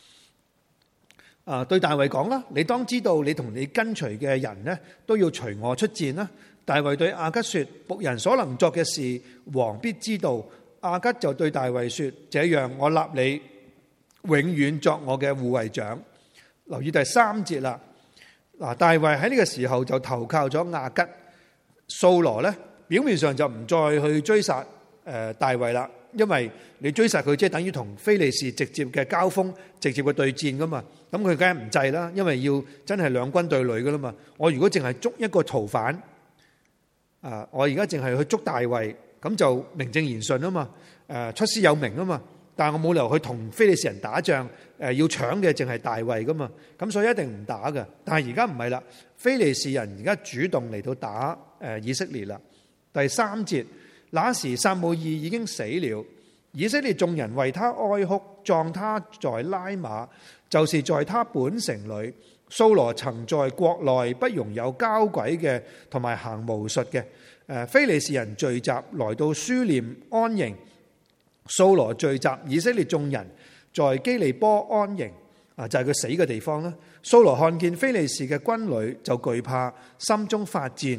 吓，對大衛講啦，你當知道你同你跟隨嘅人呢都要隨我出戰啦。大衛對亞吉說：僕人所能作嘅事，王必知道。亞吉就對大衛說：這樣我立你永遠作我嘅護衛長。留意第3節啦。嗱，大衛喺呢個時候就投靠咗亞吉，掃羅咧表面上就唔再去追殺大衛啦，因為你追殺佢即係等於同非利士直接嘅交鋒、直接嘅對戰噶嘛，咁佢梗係唔制啦，因為要真係兩軍對壘噶啦嘛。我如果淨係捉一個逃犯，我而家淨係去捉大衛，咁就名正言順啊嘛，出師有名啊嘛。但係我冇理由去同非利士人打仗，要搶嘅淨係大衛噶嘛，咁所以一定唔打噶。但係而家唔係啦，非利士人而家主動嚟到打以色列啦。第3節，那時撒母耳已經死了，以色列眾人為他哀哭，葬他在拉馬，就是在他本城裏。掃羅曾在國內不容有交鬼嘅同埋行巫術嘅。非利士人聚集來到書念安營。掃羅聚集以色列眾人在基利波安營，就係佢死嘅地方啦。掃羅看見非利士嘅軍旅就懼怕，心中發戰。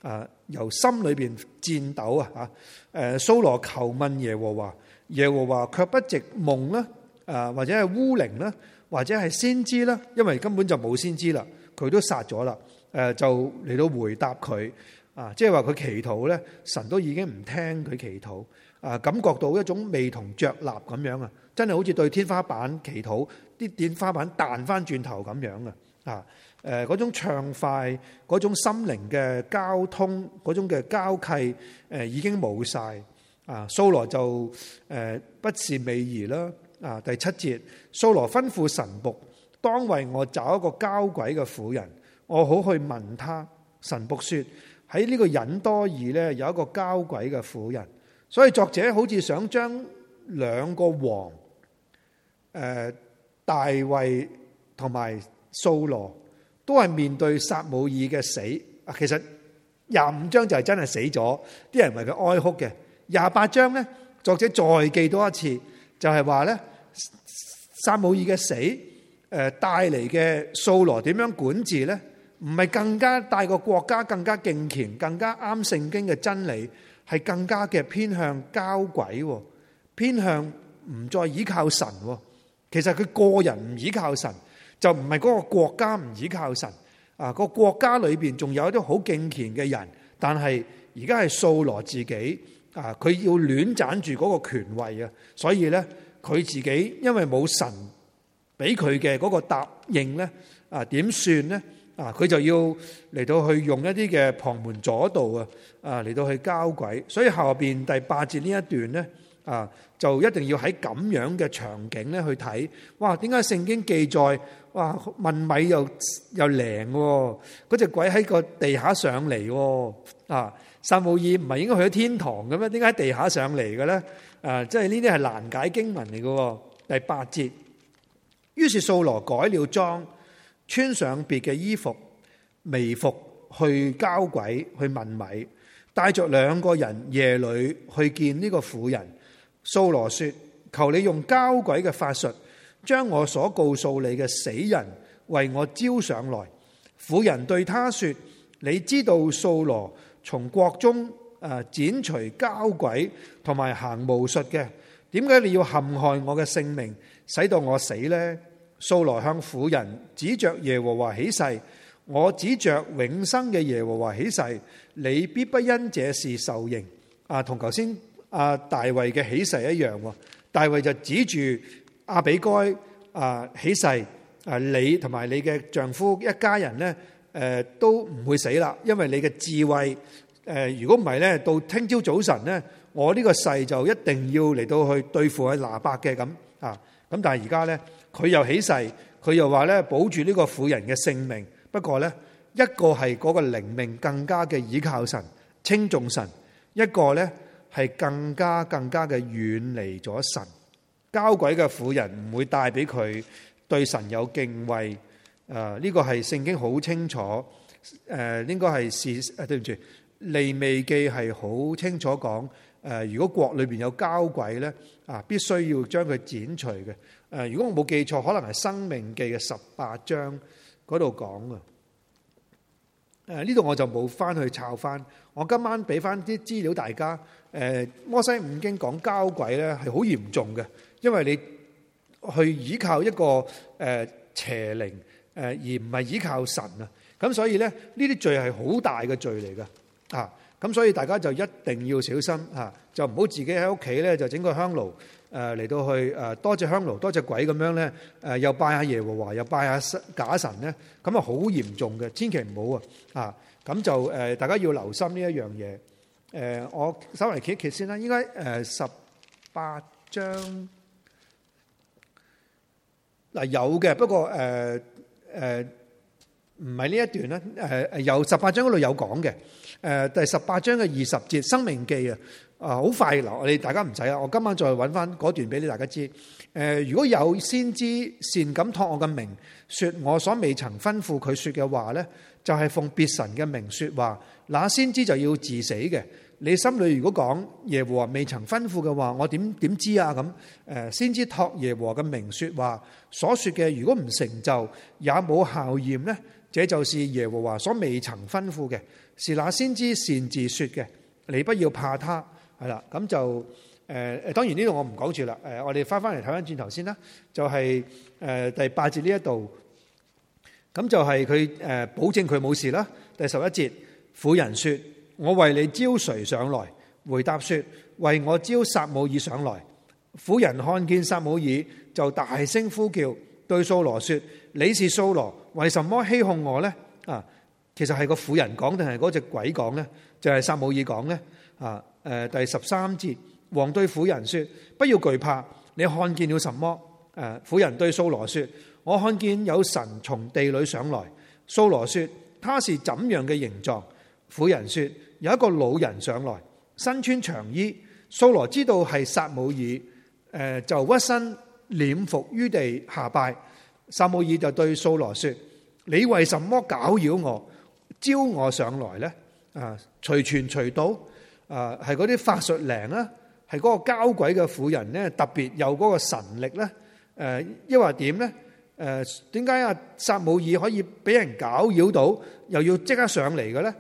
由心裏邊戰抖啊！掃羅求問耶和華，耶和華卻不藉夢啦，或者係烏靈啦，或者係先知啦，因為根本就冇先知啦，佢都殺咗啦。就嚟到回答佢即係話佢祈禱咧，神都已經唔聽佢祈禱感覺到一種味同嚼蠟咁樣啊！真係好似對天花板祈禱，啲天花板彈翻轉頭咁樣嗰種暢快，嗰種心靈嘅交通，嗰種嘅交契已經冇晒掃羅就不是美儀啦第7節，掃羅吩咐神僕，當為我找一個交鬼嘅婦人，我好去問他。神僕說喺呢個隱多爾咧有一個交鬼嘅婦人，所以作者好似想將兩個王大衛同埋掃羅都係面對撒母耳嘅死。其實25章就係真係死咗，啲人為佢哀哭嘅。28章咧，作者再記多一次，就係話咧撒母耳嘅死帶嚟嘅掃羅點樣管治咧？唔係更加帶個國家更加敬虔，更加啱聖經嘅真理，係更加嘅偏向交鬼，偏向唔再依靠神。其實佢個人唔依靠神，就唔係嗰個國家唔依靠神。個國家裏邊仲有一啲好敬虔嘅人，但係而家係掃羅自己佢要亂斬住嗰個權位啊！所以咧，佢自己因為冇神俾佢嘅嗰個答應咧，點算咧？佢就要嚟到去用一啲嘅旁門左道嚟到去交鬼，所以後邊第8節呢一段咧就一定要喺咁樣嘅場景咧去睇。哇！點解聖經記載哇問米又靈喎？嗰隻鬼喺個地下上嚟喎撒母耳唔係應該去咗天堂嘅咩？點解喺地下上嚟嘅咧？即係呢啲係難解經文嚟嘅。第8節，於是掃羅改了裝，穿上別嘅衣服，微服去交鬼，去問米，帶着2個人夜裏去見呢個婦人。掃羅說：求你用交鬼嘅法術，將我所告訴你嘅死人為我招上來。婦人對他說：你知道掃羅從國中剪除交鬼同埋行巫術嘅，點解你要陷害我嘅性命，使到我死呢？掃羅向婦人指着耶和華起誓：我指着永生嘅耶和華起誓，你必不因這事受刑。同頭先大衛嘅起誓一樣。大衛就指住亞比該起誓：你同埋你嘅丈夫一家人呢，都唔會死啦，因為你嘅智慧。如果唔係咧，到聽朝早晨咧，我呢個誓就一定要嚟到去對付拿伯嘅咁。咁但係而家咧，佢又起誓，佢又話咧保住呢個婦人嘅性命。不過咧，一個係嗰個靈命更加嘅倚靠神、稱重神；一個咧係更加嘅遠離咗神。交鬼嘅婦人唔會帶俾佢對神有敬畏。呢個係聖經好清楚。應該係對唔住。利未記係好清楚講，如果國裏邊有交鬼咧，必須要將佢剪除嘅。如果我冇記錯，可能係申命記嘅18章嗰度講嘅。呢度我就冇翻去抄翻。我今晚俾翻啲資料大家。摩西五經講交鬼咧係好嚴重嘅，因為你去依靠一個邪靈，而唔係依靠神啊。咁所以咧，呢啲罪係好大嘅罪嚟㗎。咁所以大家就一定要小心就唔好自己喺屋企咧就整個香爐嚟到去多隻香爐多隻鬼咁樣咧，又拜下耶和華又拜下假神咧，咁啊好嚴重嘅，千祈唔好啊！咁就大家要留心呢一樣嘢。我稍微揭一揭先啦，應該18章有嘅，不過唔係呢一段啦。有18章嗰度有講嘅。第18章嘅20節申命記好快嗱，我哋大家唔使啊，我今晚再揾翻嗰段俾你大家知。如果有先知擅敢託我嘅名說我所未曾吩咐佢說嘅話呢，就係奉別神嘅名說話，那先知就要治死嘅。你心裏如果講耶和華未曾吩咐嘅話，我點知啊？咁先知託耶和華嘅名說話，所說嘅如果唔成就也冇效驗呢， 這就是耶和華所未曾吩咐嘅，是那先知擅自說嘅。你不要怕他。係啦，咁就當然呢度我唔講住啦。我哋翻嚟睇翻轉頭先啦，就係第8節呢一度，咁就係佢保證佢冇事啦。第11節，婦人說：我為你招誰上來？回答說：為我招撒母耳上來。婦人看見撒母耳，就大聲呼叫，對掃羅說：你是掃羅，為什麼欺哄我呢？啊，其實係個婦人講定係嗰隻鬼講呢？就係撒母耳講呢？啊，第13節，王對婦人說：不要懼怕，你看見了什麼？婦人對掃羅說：我看見有神從地裏上來。掃羅說：他是怎樣嘅形狀？婦人說：有一個老人上來，身穿長衣。掃羅知道係撒母耳，就屈身臉伏於地下拜。撒母耳就對掃羅說：你為什麼攪擾我，招我上來呢？隨傳隨到。係嗰啲法術靈啦，係嗰個交鬼嘅婦人咧，特別有嗰個神力咧。抑或點咧？點解阿撒母耳可以俾人攪擾到，又要即刻上嚟嘅咧？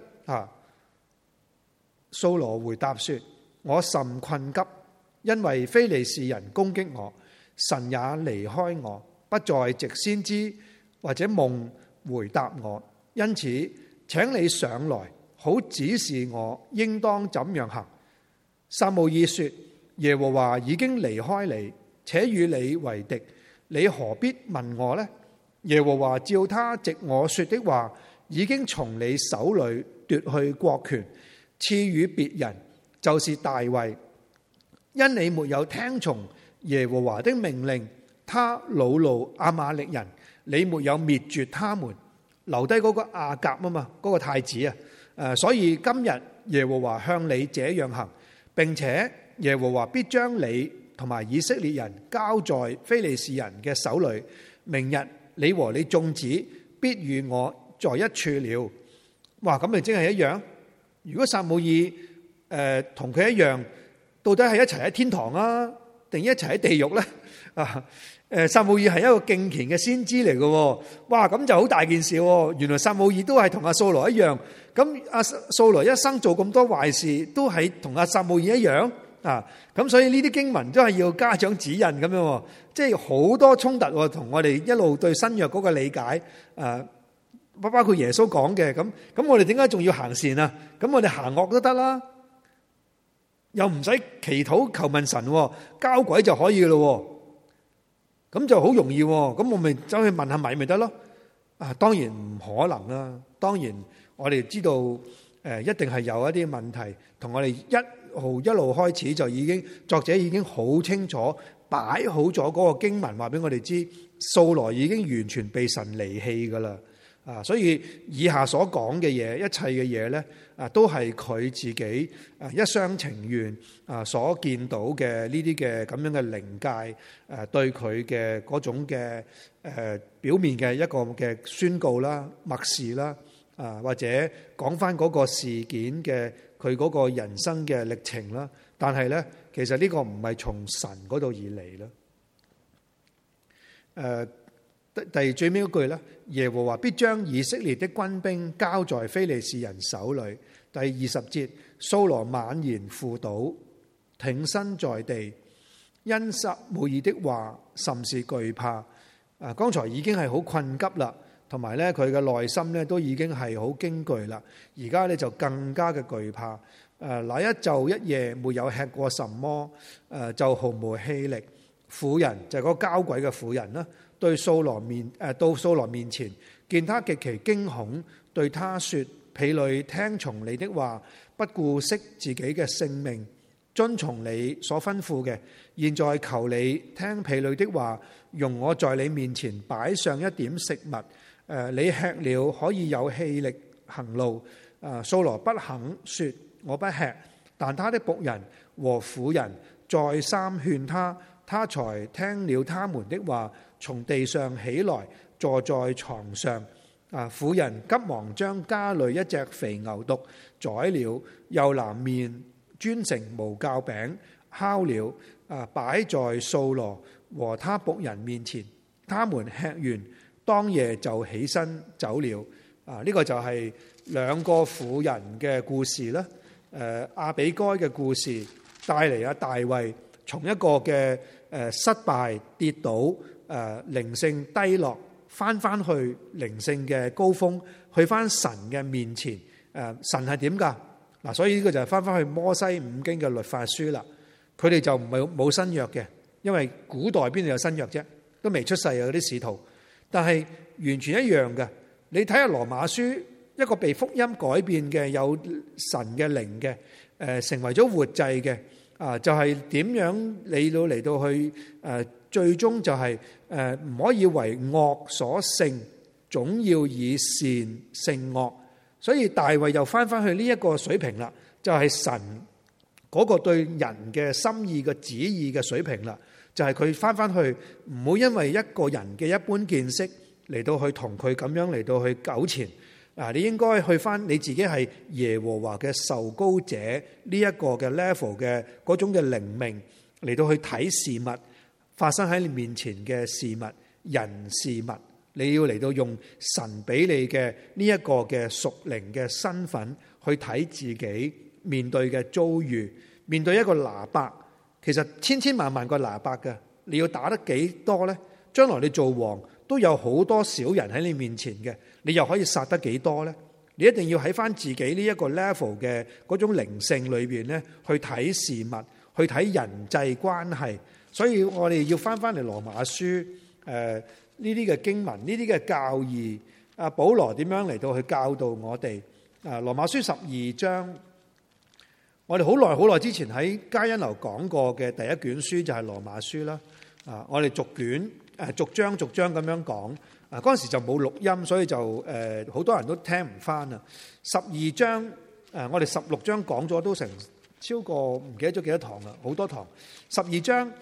掃羅回答說：我甚困急，因為非利士人攻擊我，神也離開我，不再藉先知或者夢回答我，因此請你上來，好指示我應當怎樣行。撒母耳說：耶和華已經離開你，且與你為敵，你何必問我呢？耶和華照他藉我說的話，已經從你手裏奪去國權，賜予別人，就是大衛。因你沒有聽從耶和華的命令，他惱怒亞瑪力人，你沒有滅絕他們，留低嗰個亞甲啊嘛，嗰個太子啊。所以今日耶和華向你這樣行，並且耶和華必將你同埋以色列人交在非利士人嘅手裏。明日你和你眾子必與我在一處了。哇，咁咪真係一樣。如果撒母耳同佢一樣，到底係一齊喺天堂啊，定一齊喺地獄咧？撒母耳係一個敬虔嘅先知嚟嘅。哇，咁就好大件事。原來撒母耳都係同阿掃羅一樣。咁阿掃羅一生做咁多壞事，都係同阿撒母耳一樣啊。咁所以呢啲經文都係要家長指引咁樣，即係好多衝突同我哋一路對新約嗰個理解。包括耶穌講嘅咁我哋點解仲要行善啊？咁我哋行惡都得啦，又唔使祈禱求問神，交鬼就可以嘅咯。咁就好容易，咁我咪走去問下米咪得咯。當然唔可能啦。當然我哋知道一定係有一啲問題，同我哋一路開始就已經作者已經好清楚擺好咗嗰個經文，話俾我哋知掃羅已經完全被神離棄噶啦。所以以下所講嘅嘢，一切嘅嘢咧，都係佢自己一廂情願所見到嘅呢啲嘅咁樣嘅靈界對佢嘅嗰種嘅表面嘅一個嘅宣告啦、默示啦，或者講翻嗰個事件嘅佢嗰個人生嘅歷程啦。但係咧，其實呢個唔係從神嗰度而嚟啦。第最尾嗰句咧，耶和華必將以色列的軍兵交在非利士人手裏。第20節，掃羅猛然俯倒，挺身在地，因撒母耳的話甚是懼怕。剛才已經係好困急啦，同埋咧佢嘅內心咧都已經係好驚懼啦。而家咧就更加嘅懼怕。那一晝一夜沒有吃過什麼，就毫無氣力。婦人就係嗰個交鬼嘅婦人啦。到掃羅面前，見他極其驚恐，對他說：婢女聽從你的話，不顧惜自己嘅性命，遵從你所吩咐嘅。現在求你聽婢女的話，容我在你面前擺上一點食物。你吃了可以有氣力行路。掃羅不肯說我不吃，但他的僕人和婦人再三勸他，他才聽了他們的話，從地上起來，坐在床上。婦人急忙將家裏一隻肥牛犢宰了，又拿麵煎成無酵餅，烤了，擺在掃羅和他僕人面前。他們吃完，當夜就起身走了。 呢個就係兩個婦人嘅故事啦。亞比該嘅故事帶嚟大衛從一個嘅失敗跌倒，靈性低落，翻去靈性嘅高峰，去翻神嘅面前。神係點噶？嗱，所以呢個就係翻去摩西五經嘅律法書啦。佢哋就唔係冇新約嘅，因為古代邊度有新約啫？都未出世啊！嗰啲使徒，但係完全一樣嘅。你睇下羅馬書，一個被福音改變嘅有神嘅靈嘅，成為咗活祭嘅，就係點樣嚟到去最終就係唔可以為惡所勝，總要以善勝惡。所以大衛又翻去呢一個水平啦，就係神嗰個對人嘅心意嘅旨意嘅水平啦，就係佢翻去唔好因為一個人嘅一般見識嚟到去同佢咁樣嚟到去糾纏。你應該去翻你自己係耶和華嘅受膏者呢一個嘅 level 嘅嗰種嘅靈命嚟到去睇事物發生喺你面前嘅事物人事物，你要嚟到用神俾你嘅呢一個嘅屬靈嘅身份去睇自己面對嘅遭遇，面對一個拿伯，其實千萬萬個拿伯嘅，你要打得幾多呢？將來你做王都有好多小人喺你面前嘅，你又可以殺得幾多呢？你一定要喺翻自己呢一個 level 嘅嗰種靈性裏邊咧，去睇事物，去睇人際關係。所以我哋要翻嚟羅馬書呢啲嘅經文，呢啲嘅教義，保羅點樣嚟到去教導我哋？羅馬書12章，我哋好耐之前喺嘉欣樓講過嘅第一卷書就係羅馬書啦。我哋逐章咁樣講。嗰陣時就冇錄音，所以就好多人都聽唔翻啦。12章我哋16章講咗都成超過唔記得咗幾多堂啦，好多堂。12章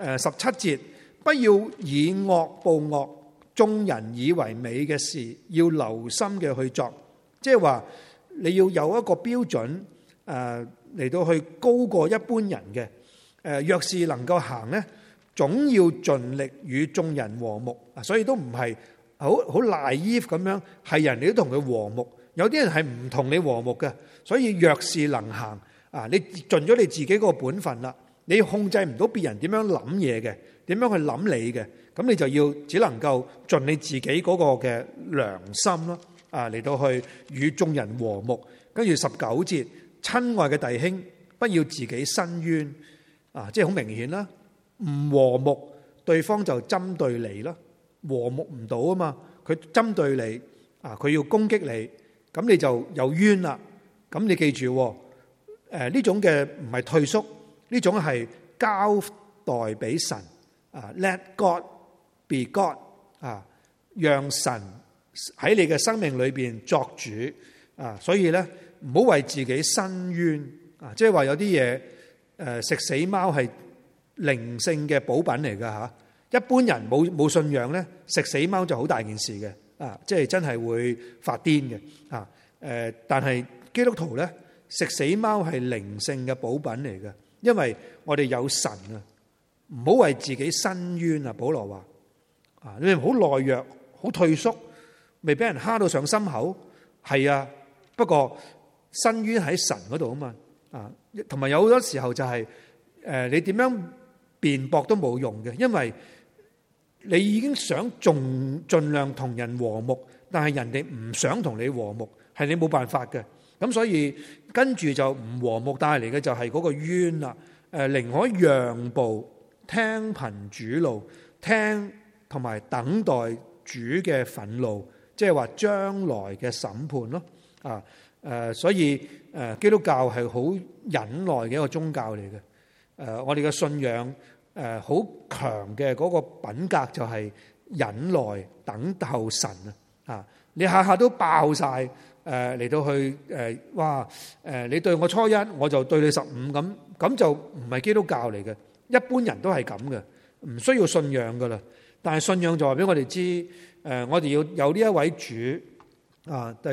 17節，不要以惡報惡，眾人以為美嘅事，要留心嘅去作。即係話你要有一個標準嚟到去高過一般人嘅。若是能夠行呢，總要盡力與眾人和睦。所以都唔係好 naive 咁樣，係人哋都同佢和睦。有啲人係唔同你和睦嘅，所以若是能行你盡咗你自己個本分啦，你控制唔到別人點樣諗嘢嘅，點樣去諗你嘅，咁你就要只能夠盡你自己嗰個嘅良心咯，嚟到去與眾人和睦。跟住19節，親愛嘅弟兄，不要自己申冤，即係好明顯啦，唔和睦，對方就針對你啦。和睦唔到啊嘛，佢針對你佢要攻擊你，咁你就有冤啦。咁你記住呢種嘅唔係退縮，呢種係交代俾神，Let God be God 讓神喺你嘅生命裏邊作主所以咧唔好為自己申冤即係話有啲嘢食死貓係靈性嘅補品嚟噶吓。一般人冇信仰咧，食死貓就好大件事嘅，即係真係會發癲嘅但係基督徒咧，食死貓係靈性嘅補品嚟嘅，因為我哋有神唔好為自己申冤保羅話你好懦弱，好退縮，未俾人蝦到上心口，係不過申冤喺神嗰度啊嘛同埋有好多時候就係你點樣辯駁都冇用嘅，因為你已經想盡量同人和睦，但係人哋唔想同你和睦，係你冇辦法嘅。咁所以跟住就唔和睦帶嚟嘅就係嗰個冤啦。寧可讓步，聽憑主怒，聽同埋等待主嘅憤怒，即係話將來嘅審判咯。所以基督教係好忍耐嘅一個宗教嚟嘅。我哋嘅信仰好強嘅嗰個品格就係忍耐等候神你下下都爆晒嚟到去你對我初一，我就對你15咁就唔係基督教嚟嘅。一般人都係咁嘅，唔需要信仰噶啦。但係信仰就話俾我哋知，我哋要有呢一位主第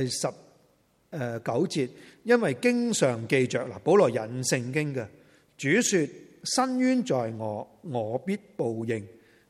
19節，因為經上記着保羅引聖經嘅主說：伸冤在我，我必報應。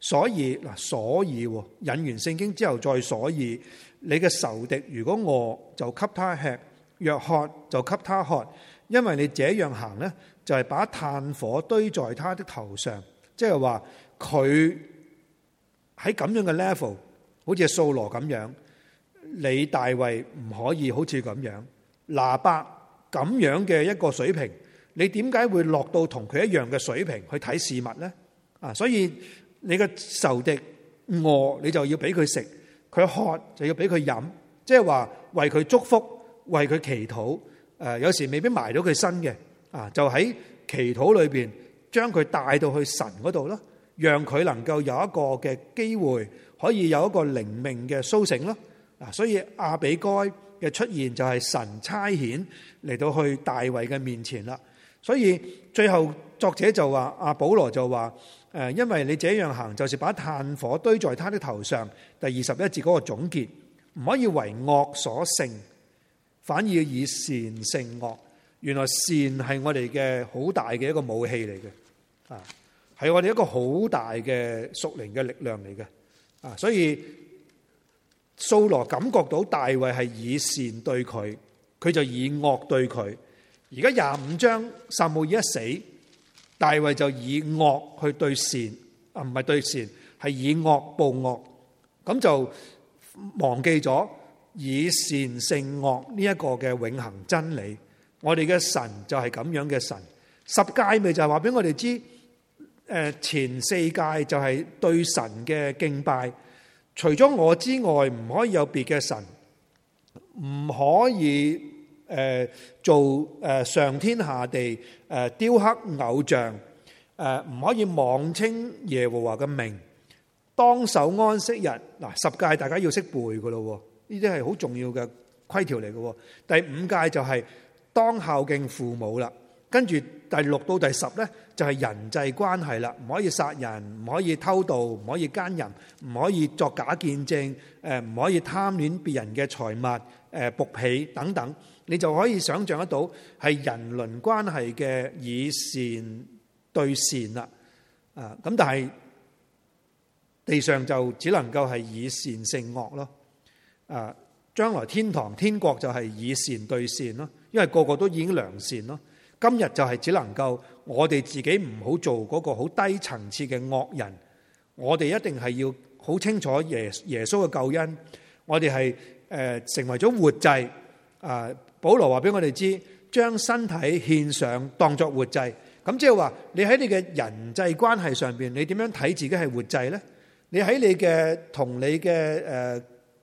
所以引完聖經之後再所以，你嘅仇敵如果餓就給他吃，若渴就給他喝，因為你這樣行呢，就係把炭火堆在他的頭上。即係話佢喺咁樣嘅 level， 好似掃羅咁樣，你大衛唔可以好似咁樣，拿伯咁樣嘅一個水平，你點解會落到同佢一樣嘅水平去睇事物呢？所以你嘅仇敵餓，你就要俾佢食；佢渴就要俾佢飲。即係話為佢祝福，為佢祈禱。有時未必埋到佢身嘅，就喺祈禱裏邊將佢帶到去神嗰度咯，讓佢能夠有一個嘅機會，可以有一個靈命嘅甦醒咯。所以亞比該嘅出現就係神差遣嚟到去大衛嘅面前啦。所以最後作者就話，阿保羅就話，因為你這樣行，就是把炭火堆在他的頭上。第21節嗰個總結，唔可以為惡所勝，反而以善勝惡。原來善係我哋嘅好大嘅一個武器嚟嘅，係我哋一個好大嘅屬靈嘅力量嚟嘅。所以掃羅感覺到大衛係以善對佢，佢就以惡對佢。而家25章撒母耳一死，大衛就以惡去對善，唔係對善，係以惡報惡，咁就忘記咗以善勝惡呢一個嘅永恆真理。我哋嘅神就係咁樣嘅神。十誡咪就係話俾我哋知，前4誡就係對神嘅敬拜，除咗我之外唔可以有別嘅神，唔可以做上天下地雕刻偶像，唔可以妄稱耶和華嘅名，當守安息日。嗱，10誡大家要識背噶咯，呢啲係好重要嘅規條嚟嘅。第5誡就係當孝敬父母啦，跟住第6到第10咧就係人際關係啦，唔可以殺人，唔可以偷盜，唔可以奸淫，唔可以作假見證，唔可以貪戀別人嘅財物，僕婢等等，你就可以想象得到係人倫關係嘅以善對善啦。咁但係地上就只能夠係以善勝惡咯。將來天堂天國就係以善對善咯。因為個個都已經良善咯，今日就係只能夠我哋自己唔好做嗰個好低層次嘅惡人，我哋一定係要好清楚耶穌嘅救恩，我哋係成為咗活祭。保羅話俾我哋知，將身體獻上當作活祭，咁即係話你喺你嘅人際關係上邊，你點樣睇自己係活祭呢？你喺你嘅同你嘅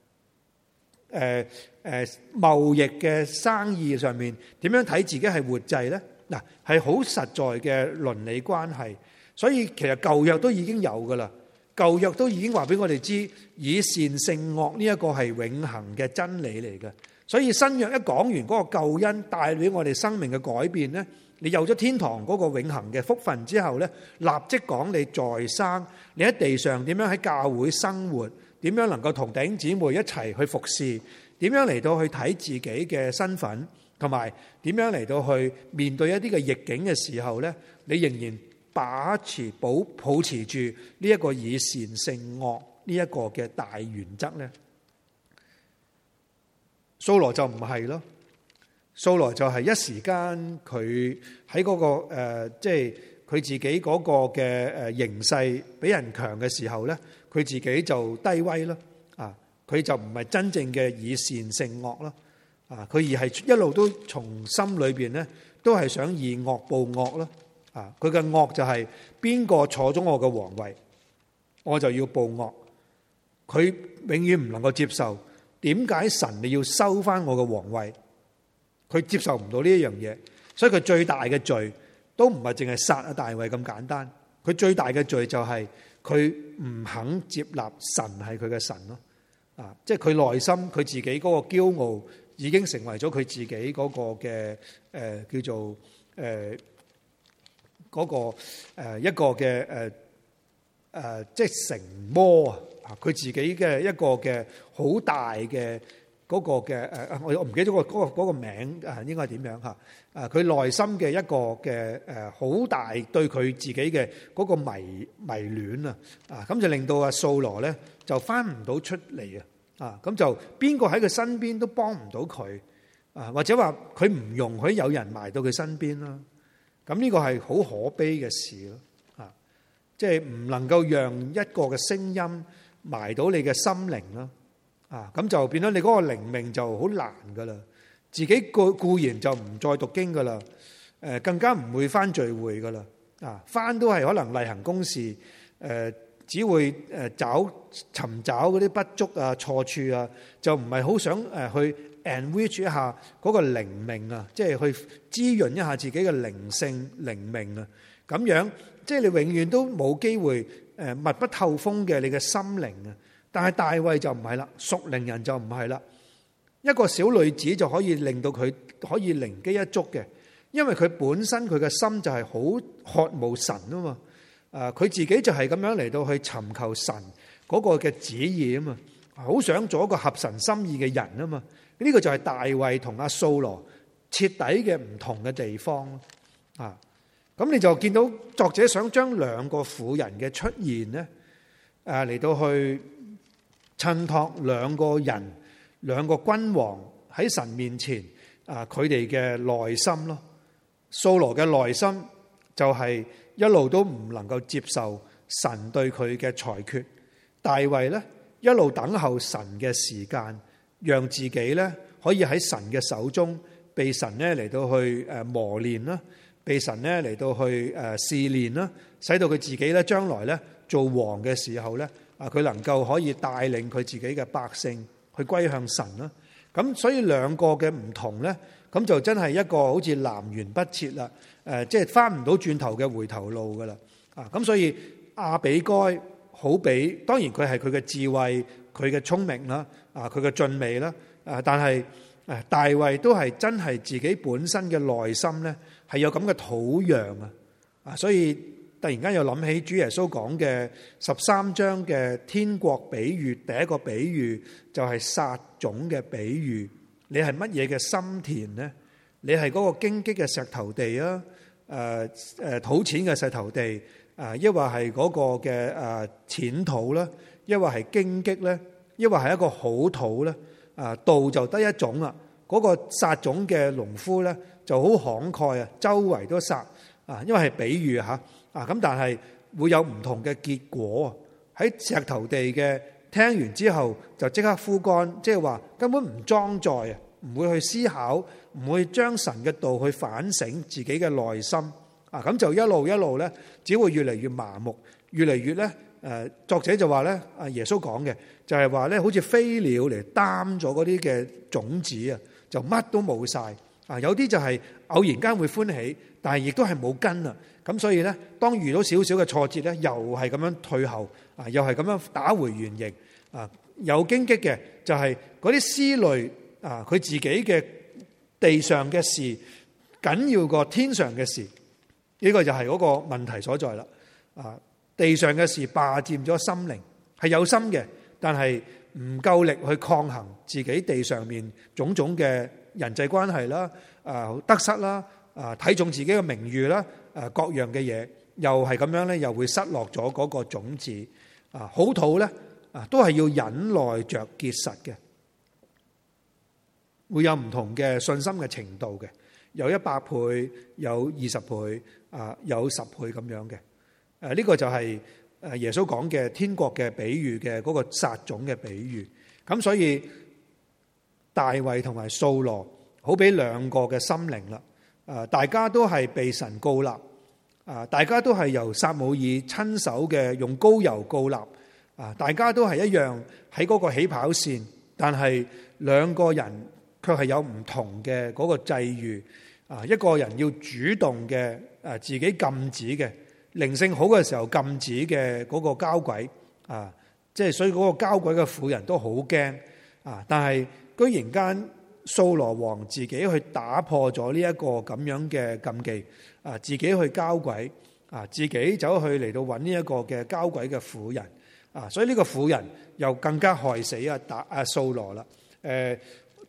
貿易嘅生意上面點樣睇自己係活祭呢？嗱，係好實在嘅倫理關係。所以其實舊約都已經有噶啦，舊約都已經話俾我哋知，以善勝惡呢一個係永恆嘅真理嚟嘅。所以新約一講完嗰個救恩帶俾我哋生命嘅改變呢，你有咗天堂嗰個永恆嘅福分之後呢，立即講你在生，你喺地上點樣喺教會生活，點樣能夠同弟兄姊妹一齊去服侍，點樣嚟到去睇自己嘅身份，同埋點樣嚟到去面對一啲嘅逆境嘅時候呢，你仍然保持住呢一個以善勝惡呢一個嘅大原則呢？掃羅就唔係咯，掃羅就係一時間佢喺嗰個即係佢自己嗰個嘅形勢比人強嘅時候呢，佢自己就低威咯。佢就唔係真正嘅以善勝惡咯。佢而係一路都從心裏邊呢，都係想以惡報惡咯。佢嘅惡就係邊個坐咗我嘅皇位，我就要報惡。佢永遠唔能夠接受，點解神你要收翻我嘅皇位？佢接受唔到呢一樣嘢，所以佢最大嘅罪都唔係淨係殺阿大衛咁簡單。佢最大嘅罪就係佢唔肯接納神係佢嘅神咯。即係佢內心佢自己嗰個驕傲已經成為咗佢自己嗰個嘅叫做嗰個一個嘅即係成魔啊！佢自己嘅一個嘅好大嘅嗰個嘅我唔記得嗰個名應該係點樣嚇？佢內心嘅一個嘅好大對佢自己嘅嗰個迷戀啊！咁就令到阿掃羅咧就翻唔到出嚟啊！咁就邊個喺佢身邊都幫唔到佢啊，或者話佢唔容許有人埋到佢身邊啦。咁呢個係好可悲嘅事咯啊！即係唔能夠讓一個嘅聲音埋到你嘅心靈啦啊！咁就變咗你嗰個靈命就好難噶啦。自己固然就唔再讀經噶啦，更加唔會翻聚會噶啦啊！翻都係可能例行公事，只會尋找嗰啲不足啊、錯處啊，就唔係好想去 enrich 一下嗰個靈命啊，即係去滋潤一下自己嘅靈性靈命啊。咁樣即係你永遠都冇機會密不透風嘅你嘅心靈啊。但係大衛就唔係啦，屬靈人就唔係啦。一個小女子就可以令到佢可以靈機一觸嘅，因為佢本身佢嘅心就係好渴慕神啊嘛。佢自己就係咁樣嚟到去尋求神嗰個嘅旨意啊嘛，好想做一個合神心意嘅人啊嘛。呢個就係大衛同阿掃羅徹底嘅唔同嘅地方啊。咁你就見到作者想將兩個婦人嘅出現呢，嚟到去襯托兩個人、兩個君王喺神面前佢哋嘅內心咯。掃羅嘅內心就係一路都唔能夠接受神對佢嘅裁決，大衛呢一路等候神嘅時間，讓自己呢可以喺神嘅手中被神呢嚟到去磨練啦，被神呢嚟到去試煉啦，使到佢自己呢將來呢做王嘅時候呢，佢能夠可以帶領佢自己嘅百姓去歸向神啦。咁所以兩個嘅唔同呢，咁就真係一個好似南轅北轍啦，即係翻唔到轉頭嘅回頭路噶啦。咁所以亞比該好比，當然佢係佢嘅智慧、佢嘅聰明啦，佢嘅俊美啦，但係大衛都係真係自己本身嘅內心呢，係有咁嘅土壤啊。所以突然間又諗起主耶穌講嘅13章嘅天國比喻，第一個比喻就係撒種嘅比喻。你係乜嘢嘅心田呢？你係嗰個荊棘嘅石頭地啊，土淺嘅石頭地，抑或係嗰個嘅淺土啦，抑或係荊棘咧，抑或係一個好土咧？道就得一種啦。嗰個撒種嘅農夫咧就好慷慨啊，周圍都撒啊，因為係比喻嚇咁，但係會有唔同嘅結果喺石頭地嘅。聽完之後就即刻枯乾，即係話根本唔裝載啊，唔會去思考，唔會將神嘅道去反省自己嘅內心咁就一路一路咧，只會越嚟越麻木，越嚟越咧作者就話咧，耶穌講嘅就係話咧，好似飛鳥嚟擔咗嗰啲嘅種子啊，就乜都冇晒有啲就係偶然間會歡喜，但係亦都係冇根啊。咁所以咧，當遇到少少嘅挫折咧，又係咁樣退後又係咁樣打回原形有荊棘嘅就係嗰啲思慮佢自己嘅地上嘅事緊要過天上嘅事，呢個就係嗰個問題所在啦。地上嘅事霸佔咗心靈，係有心嘅，但係唔夠力去抗衡自己地上面種種嘅人際關係啦，得失啦，睇重自己嘅名譽啦，各樣嘅嘢，又係咁樣咧，又會失落咗嗰個種子。好土咧，都係要忍耐着結實嘅，會有唔同嘅信心嘅程度嘅，有100倍，有20倍，有10倍咁樣嘅。呢個就係耶穌講嘅天國嘅比喻嘅嗰個撒種嘅比喻。咁所以大衛同埋掃羅好比兩個嘅心靈啦。大家都係被神膏立，大家都係由撒母耳親手嘅用膏油膏立，大家都係一樣喺嗰個起跑線，但係兩個人卻係有唔同嘅嗰個際遇。一個人要主動嘅自己禁止嘅靈性好嘅時候禁止嘅嗰個交鬼即係所以嗰個交鬼嘅婦人都好驚但係居然間掃羅王自己去打破咗呢一個咁樣嘅禁忌自己去交鬼自己走去嚟到揾呢一個嘅交鬼嘅婦人所以呢個婦人又更加害死掃羅啦。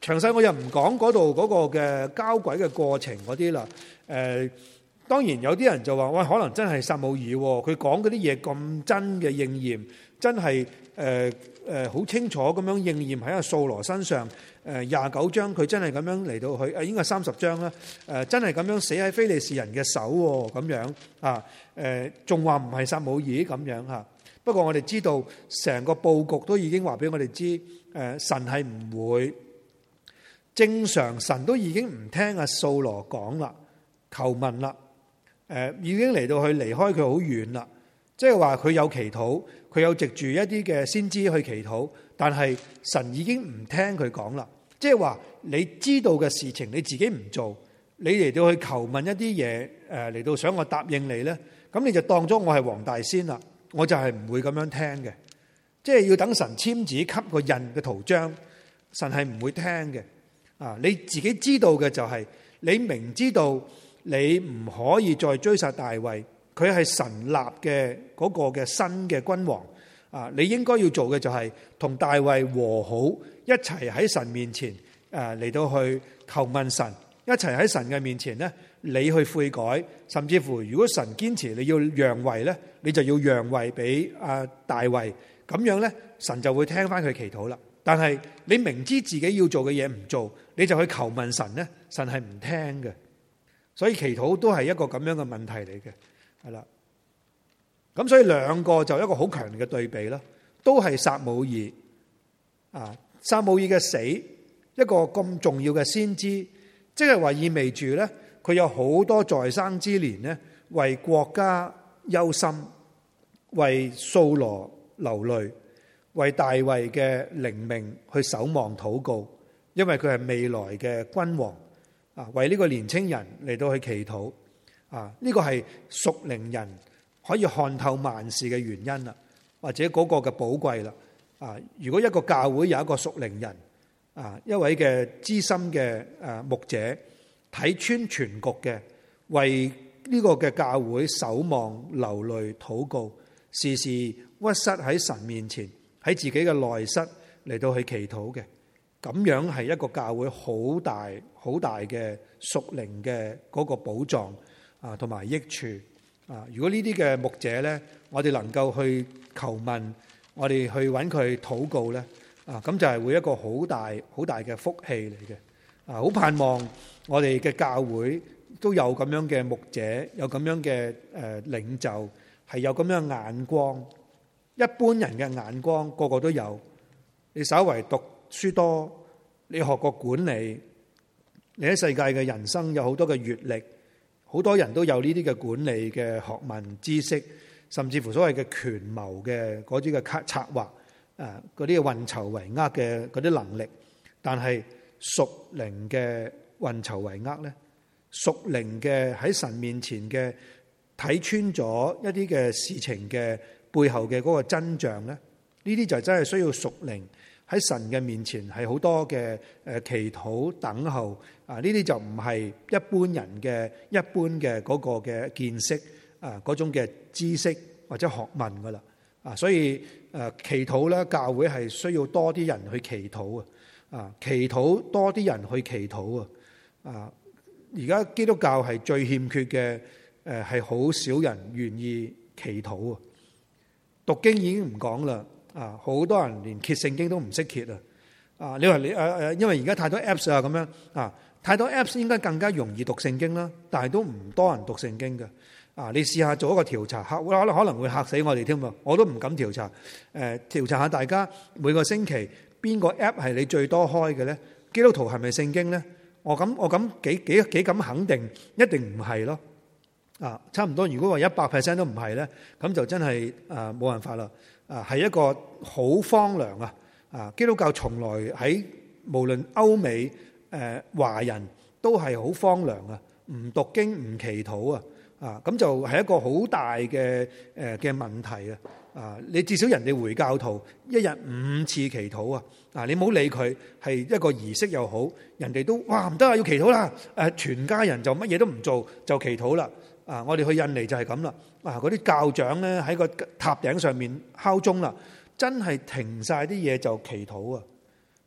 詳細我又唔講嗰度嗰個嘅交鬼嘅過程嗰啲啦。當然有啲人就話喂，可能真係撒母耳，佢講嗰啲嘢咁真嘅應驗，真係好清楚咁樣應驗喺阿掃羅身上。29章佢真係咁樣嚟到去，應該係30章啦。真係咁樣死喺非利士人嘅手咁樣啊。仲話唔係撒母耳咁樣嚇。不過我哋知道成個佈局都已經話俾我哋知，神係唔會。正常神都已經唔聽阿掃羅講啦，求問啦，已經嚟到去離開佢好遠啦。即係話佢有祈禱，佢有藉住一啲嘅先知去祈禱，但係神已經唔聽佢講啦。即係話你知道嘅事情你自己唔做，你嚟到去求問一啲嘢，嚟到想我答應你呢，咁你就當咗我係黃大仙啦，我就係唔會咁樣聽嘅。即係要等神簽字給個印嘅圖章，神係唔會聽嘅。你自己知道嘅就係，你明知道你唔可以再追殺大衛，佢係神立嘅嗰個嘅新嘅君王。你應該要做嘅就係同大衛和好，一齊喺神面前嚟到去求問神，一齊喺神嘅面前呢，你去悔改，甚至乎如果神堅持你要讓位呢，你就要讓位俾大衛，咁樣呢，神就會聽翻佢祈禱啦。但係你明知自己要做嘅嘢唔做，你就去求問神呢，神係唔聽嘅。所以祈禱都係一個咁樣嘅問題嚟嘅，係啦。咁所以兩個就一個好強烈嘅對比啦，都係撒母耳。撒母耳嘅死，一個咁重要嘅先知，即係話意味住呢，佢有好多在生之年呢，為國家憂心，為掃羅流淚，為大衛嘅靈命去守望禱告，因為佢係未來嘅君王。為呢個年青人嚟到去祈禱。呢個係屬靈人可以看透萬事嘅原因啦，或者嗰個嘅寶貴啦。如果一個教會有一個屬靈人，一位嘅資深嘅牧者睇穿全局嘅，為呢個嘅教會守望流淚禱告，時時屈膝喺神面前，喺自己嘅內室嚟到去祈禱嘅，咁樣係一個教會好大好大嘅屬靈嘅嗰個寶藏同埋益處。如果呢啲嘅牧者呢，我哋能夠去求問，我哋去揾佢禱告呢，咁就係會一個好大好大嘅福氣嚟嘅。好盼望我哋嘅教會都有咁樣嘅牧者，有咁樣嘅領袖，係有咁樣眼光。一般人嘅眼光個個都有，你稍為讀書多，你學過管理，你喺世界嘅人生有好多嘅閱歷，好多人都有呢啲嘅管理嘅學問知識，甚至乎所謂嘅權謀嘅嗰啲嘅策劃，嗰啲嘅運籌帷幄嘅嗰啲能力。但係屬靈嘅運籌帷幄呢，屬靈嘅喺神面前嘅睇穿咗一啲嘅事情嘅背後嘅嗰個真相呢，呢啲就真係需要屬靈喺神嘅面前係好多嘅祈禱等候。呢啲就唔係一般人嘅一般嘅嗰個嘅見識嗰種嘅知識或者學問噶啦。所以祈禱咧，教會係需要多啲人去祈禱祈禱多啲人去祈禱而家基督教係最欠缺嘅，係好少人願意祈禱讀經已經唔講啦，好多人連揭聖經都唔識揭你話你因為而家太多 apps 咁樣太多 apps 應該更加容易讀聖經啦，但係都唔多人讀聖經嘅。你試下做一個調查，可能會嚇死我哋添喎，我都唔敢調查。調查下大家每個星期邊個 app 係你最多開嘅咧？基督徒係咪聖經咧？我咁幾敢肯定，一定唔係咯。差唔多。如果話100% 都唔係咧，咁就真係冇辦法啦。係一個好荒涼基督教從來喺無論歐美華人都係好荒涼唔讀經唔祈禱咁就係一個好大嘅問題你至少人哋回教徒一日5次祈禱你唔好理佢係一個儀式又好，人哋都哇唔得要祈禱啦全家人就乜嘢都唔做就祈禱啦我哋去印尼就係咁啦嗰啲教長咧喺個塔頂上面敲鐘啦，真係停晒啲嘢就祈禱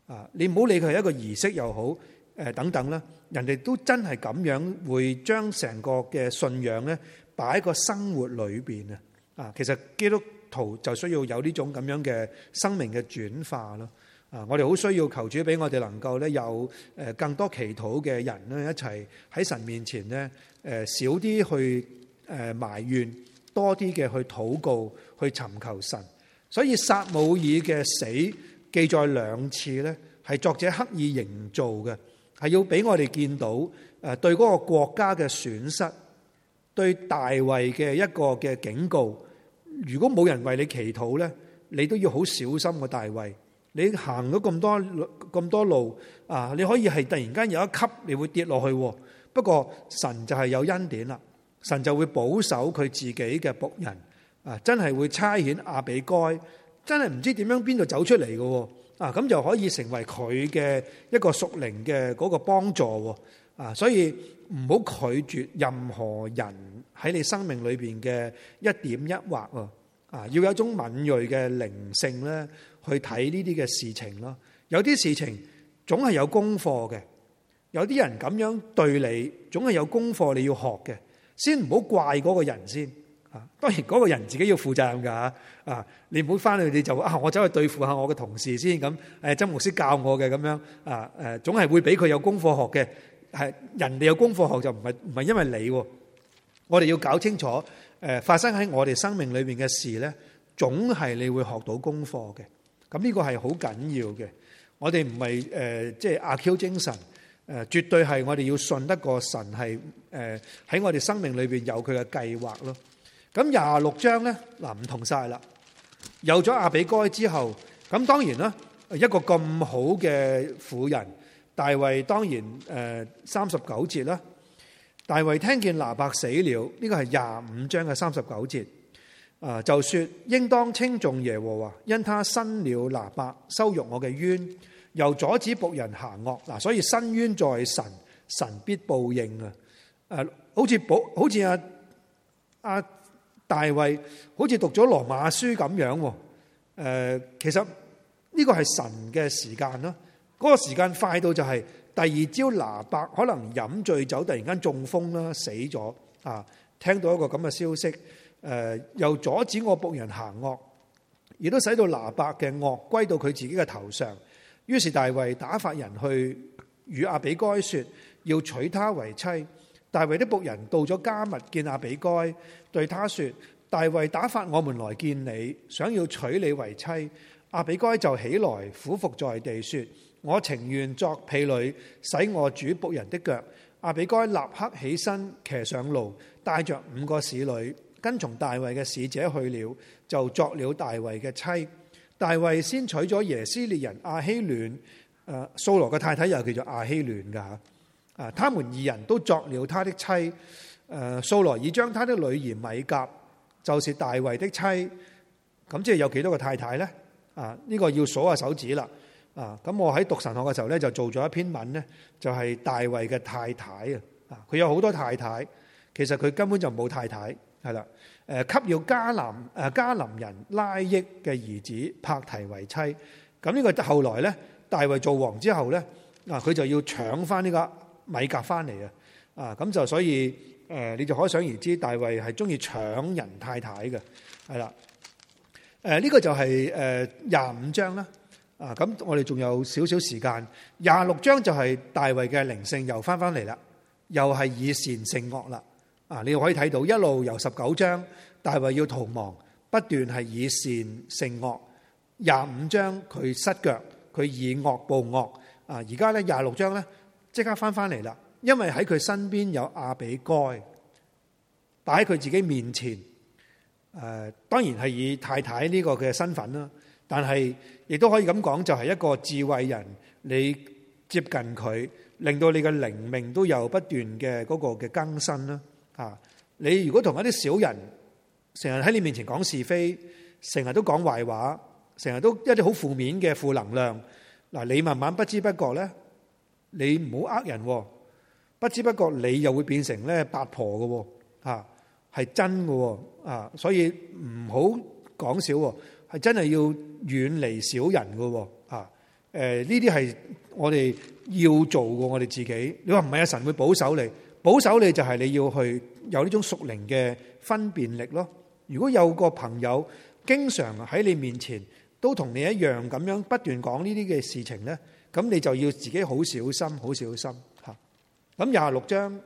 你唔好理佢係一個儀式又好，等等啦，人哋都真係咁樣會將成個嘅信仰咧擺喺個生活裏邊啊！其實基督徒就需要有呢種咁樣嘅生命嘅轉化咯。我哋好需要求主俾我哋能夠咧有更多祈禱嘅人咧一齊喺神面前咧少啲去埋怨，多啲嘅去禱告，去尋求神。所以撒母耳嘅死記載2次咧，係作者刻意營造嘅，係要俾我哋見到對嗰個國家嘅損失，對大衛嘅一個嘅警告。如果冇人為你祈禱咧，你都要好小心個大衛。你行咗咁多路啊，你可以係突然間有一級你會跌落去。不過神就係有恩典啦，神就會保守佢自己嘅僕人啊，真係會差遣亞比該，真係唔知點樣邊度走出嚟嘅啊，咁就可以成為佢嘅一個屬靈嘅嗰個幫助啊。所以唔好拒絕任何人喺你生命裏邊嘅一點一畫啊，要有一種敏銳嘅靈性咧，去睇呢啲嘅事情咯。有啲事情總係有功課嘅，有啲人咁樣對你，總係有功課你要學嘅。先唔好怪嗰個人先啊，當然嗰個人自己要負責任噶啊。你唔好翻去你就我走去對付下我嘅同事先咁。曾牧師教我嘅咁樣啊，總係會俾佢有功課學嘅。係人哋有功課學就唔係因為你。我哋要搞清楚發生喺我哋生命裏邊嘅事咧，總係你會學到功課嘅。咁呢個係好緊要嘅。我哋唔係即係阿 Q 精神，絕對係我哋要信得過神係喺我哋生命裏邊有佢嘅計劃咯。咁26章咧唔同晒啦。有咗亞比該之後，咁當然啦，一個咁好嘅婦人大衛，當然39節啦。大衛聽見拿伯死了，呢個係25章嘅39節，就說應當稱頌耶和華，因他伸了拿伯，羞辱我嘅冤，又阻止僕人行惡。嗱，所以伸冤在神，神必報應啊！好似阿大衛好似讀咗羅馬書咁樣，其實呢個係神嘅時間啦，嗰個時間快到就係第二朝拿伯可能飲醉酒，突然間中風啦，死咗啊！聽到一個咁嘅消息，又阻止我僕人行惡，亦都使到拿伯嘅惡歸到佢自己嘅頭上。於是大衛打發人去與亞比該說，要娶她為妻。大衛的僕人到咗迦密見亞比該，對他說：大衛打發我們來見你，想要娶你為妻。亞比該就起來俯伏在地說：我情願作婢女，洗我主僕人的腳。亞比該立刻起身，騎上驢，帶着5個使女，跟從大衛嘅使者去了，就作了大衛嘅妻。大衛先娶咗耶斯列人亞希暖，掃羅嘅太太又叫做亞希暖噶吓，他們2人都作了他的妻。掃羅已將他的女兒米甲，就是大衛的妻。咁即係有幾多個太太呢？呢個要數下手指啦。咁我喺讀神學嘅時候咧，就做咗一篇文咧，就係大衛嘅太太啊。佢有好多太太，其實佢根本就冇太太，係啦。給要迦南人拉益嘅兒子伯提為妻。咁呢個後來咧，大衛做王之後咧，佢就要搶翻呢個米甲翻嚟啊。咁就所以你就可想而知，大衛係中意搶人太太嘅，係啦。呢個就係25章啦。咁我哋仲有少少時間。26章就係大衛嘅靈性又翻嚟啦，又係以善勝惡啦。你可以睇到一路由19章大衛要逃亡，不斷係以善勝惡。25章佢失腳，佢以惡報惡。而家咧26章咧即刻翻嚟啦，因為喺佢身邊有亞比該擺喺佢自己面前。當然係以太太呢個嘅身份啦，但係亦都可以咁講，就係一個智慧人，你接近佢，令到你嘅靈命都有不斷嘅嗰個嘅更新啦。你如果同一啲小人成日喺你面前講是非，成日都講壞話，成日都一啲好負面嘅負能量，你慢慢不知不覺咧，你唔好呃人，不知不覺你又會變成咧八婆嘅，係真嘅，所以唔好講少，係真係要遠離小人嘅， 呢啲係我哋要做嘅，我哋自己。你話唔係啊？神會保守你，保守你就係你要去有呢種屬靈嘅分辨力咯。如果有個朋友經常喺你面前都同你一樣咁樣不斷講呢啲嘅事情咧，咁你就要自己好小心，好小心嚇。咁26章，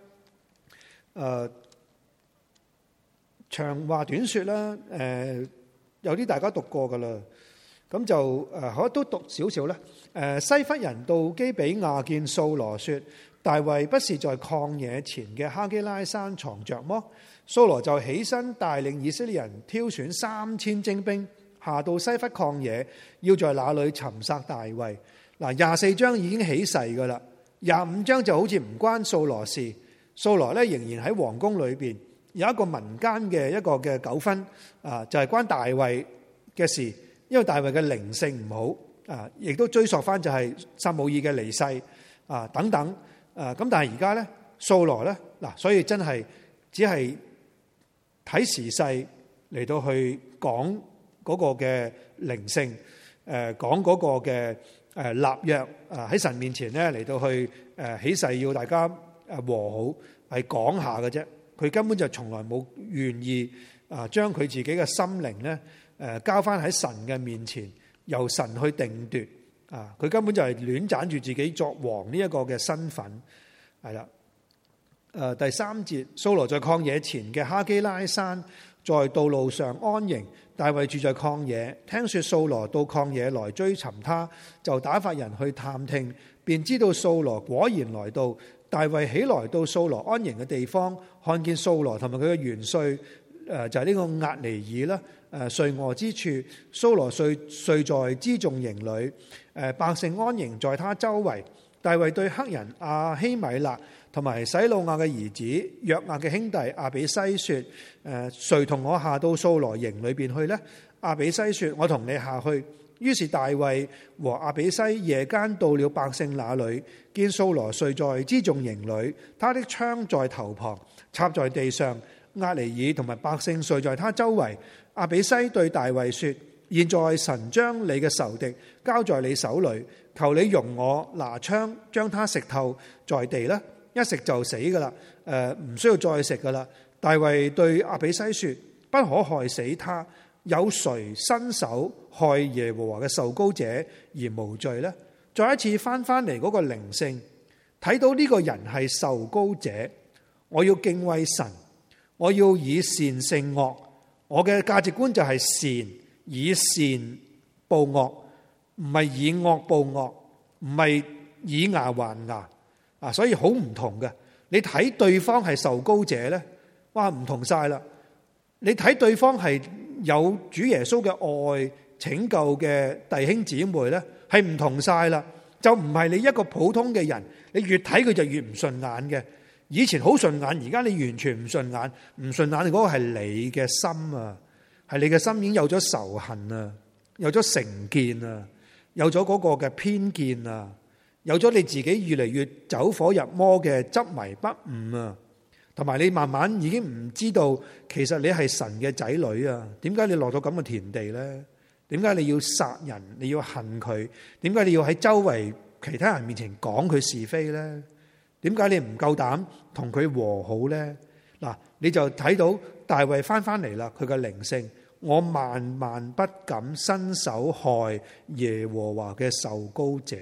長話短說啦，有啲大家讀過噶啦，咁就可都讀少少啦。西弗人到基比亞見掃羅說：大衛不是在曠野前嘅哈基拉山藏着麼？掃羅就起身帶領以色列人挑選3000精兵，下到西弗曠野，要在那裏尋殺大衛。嗱，24章已經起誓噶啦，25章就好似唔關掃羅事。掃羅咧仍然喺皇宮裏邊，有一個民間嘅一個嘅糾紛啊，就係關大衛嘅事，因為大衛嘅靈性唔好啊，亦都追溯翻就係撒母耳嘅離世啊等等啊。咁但係而家咧掃羅咧嗱，所以真係只係睇時勢嚟到去講嗰個嘅靈性，講嗰個嘅立約喺神面前咧嚟到去起誓要大家和好，係講下嘅啫。佢根本就從來冇願意將佢自己嘅心靈咧交翻喺神嘅面前，由神去定奪啊！佢根本就係亂斬住自己作王呢一個嘅身份，係啦。第3節，掃羅在曠野前嘅哈基拉山，在道路上安營。大衛住在曠野，聽說掃羅到曠野來追尋他，就打發人去探聽，便知道掃羅果然來到。大衛起來到掃羅安營嘅地方，看見掃羅同埋佢嘅元帥，就係呢個押尼珥啦，睡臥之處。掃羅睡在輜重營裏，百姓安營在他周圍。大衛對黑人亞希米勒同埋洗魯亞嘅兒子約押嘅兄弟亞比篩說：誰同我下到掃羅營裏邊去呢？亞比篩說：我同你下去。於是大衛和亞比篩夜間到了百姓那裏，見掃羅睡在輜重營裏，他的槍在頭旁，插在地上。押尼珥同埋百姓睡在他周圍。亞比篩對大衛說：現在神將你嘅仇敵交在你手裏，求你容我拿槍將他食透在地啦，一食就死噶啦，唔需要再食噶啦。大衛對亞比篩說：不可害死他，有誰伸手害耶和華嘅受膏者而無罪呢？再一次翻嚟嗰個靈性，睇到呢個人係受膏者，我要敬畏神，我要以善勝惡，我嘅價值觀就係善，以善報惡，唔係以惡報惡，唔係以牙還牙啊！所以好唔同嘅。你睇對方係受膏者咧，哇，唔同晒啦！你睇對方係有主耶穌嘅愛拯救嘅弟兄姊妹咧，係唔同晒啦。就唔係你一個普通嘅人，你越睇佢就越唔順眼嘅。以前好順眼，而家你完全唔順眼，唔順眼嗰個係你嘅心啊，係你嘅心已經有咗仇恨啊，有咗成見啊，有咗嗰個嘅偏見啊，有咗你自己越嚟越走火入魔嘅執迷不悟啊，同埋你慢慢已經唔知道其實你係神嘅仔女啊，點解你落到咁嘅田地咧？點解你要殺人？你要恨佢？點解你要喺周圍其他人面前講佢是非咧？點解你唔夠膽同佢和好咧？嗱，你就睇到大衛翻嚟啦，佢嘅靈性，我萬萬不敢伸手害耶和華嘅受膏者。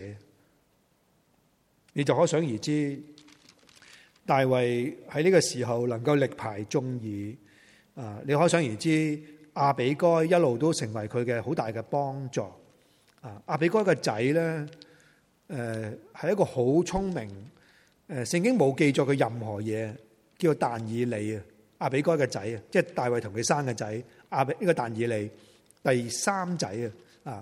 你就可想而知，大衛喺呢個時候能夠力排眾議啊！你可想而知。亞比該一路都成為佢嘅好大嘅幫助。亞比該嘅仔咧，係一個好聰明。聖經冇記載佢任何嘢，叫但以理啊。亞比該嘅仔啊，即係大衛同佢生嘅仔。呢個但以理第3仔啊。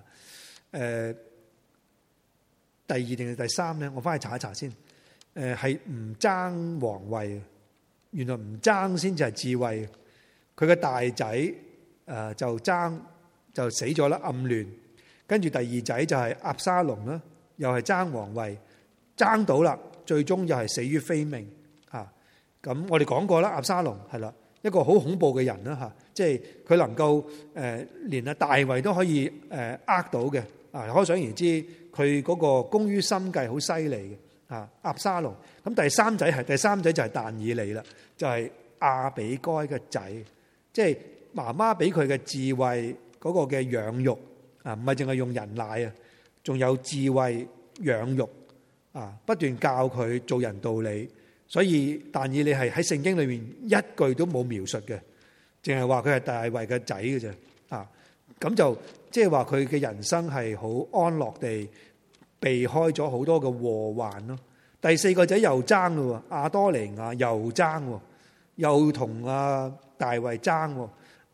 第2定係第3咧？我翻去查一查先。係唔爭皇位，原來唔爭先至係智慧。佢嘅大仔。就爭就死咗啦，暗亂。跟住第2仔就係押沙龍啦，又係爭皇位，爭到啦，最終又係死於非命嚇。咁我哋講過啦，押沙龍係啦，一個好恐怖嘅人啦嚇，即係佢能夠連大衛都可以呃到嘅啊！可想而知佢佢嗰個工於心計好犀利嘅啊，押沙龍。咁第三仔就係但以理啦，就係亞比該嘅仔，即係媽媽俾佢嘅智慧嗰個嘅養育啊，唔係淨係用人奶啊，仲有智慧養育啊，不斷教佢做人道理。所以但以理係喺聖經裏面一句都冇描述嘅，淨係話佢係大衛嘅仔嘅啫啊。咁就即係話佢嘅人生係好安樂地避開咗好多嘅禍患咯。第四個仔又爭咯，亞多尼亞又爭，又同阿大衛爭，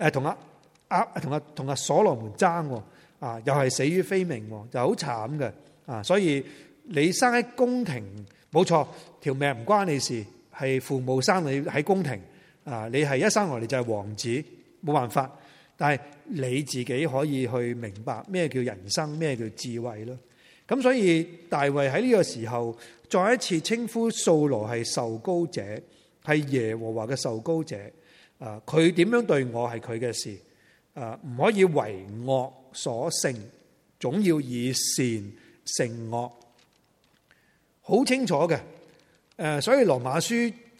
同阿所羅門爭啊，又係死於非命，就好慘嘅啊。所以你生喺宮廷冇錯，條命唔關你事，係父母生你喺宮廷啊，你係一生落嚟就係王子，冇辦法。但係你自己可以去明白咩叫人生，咩叫智慧咯。咁所以大衛喺呢個時候再一次稱呼掃羅係受膏者，係耶和華嘅受膏者。啊，佢點樣對我係佢嘅事。啊，唔可以為惡所勝，總要以善勝惡。好清楚嘅。所以羅馬書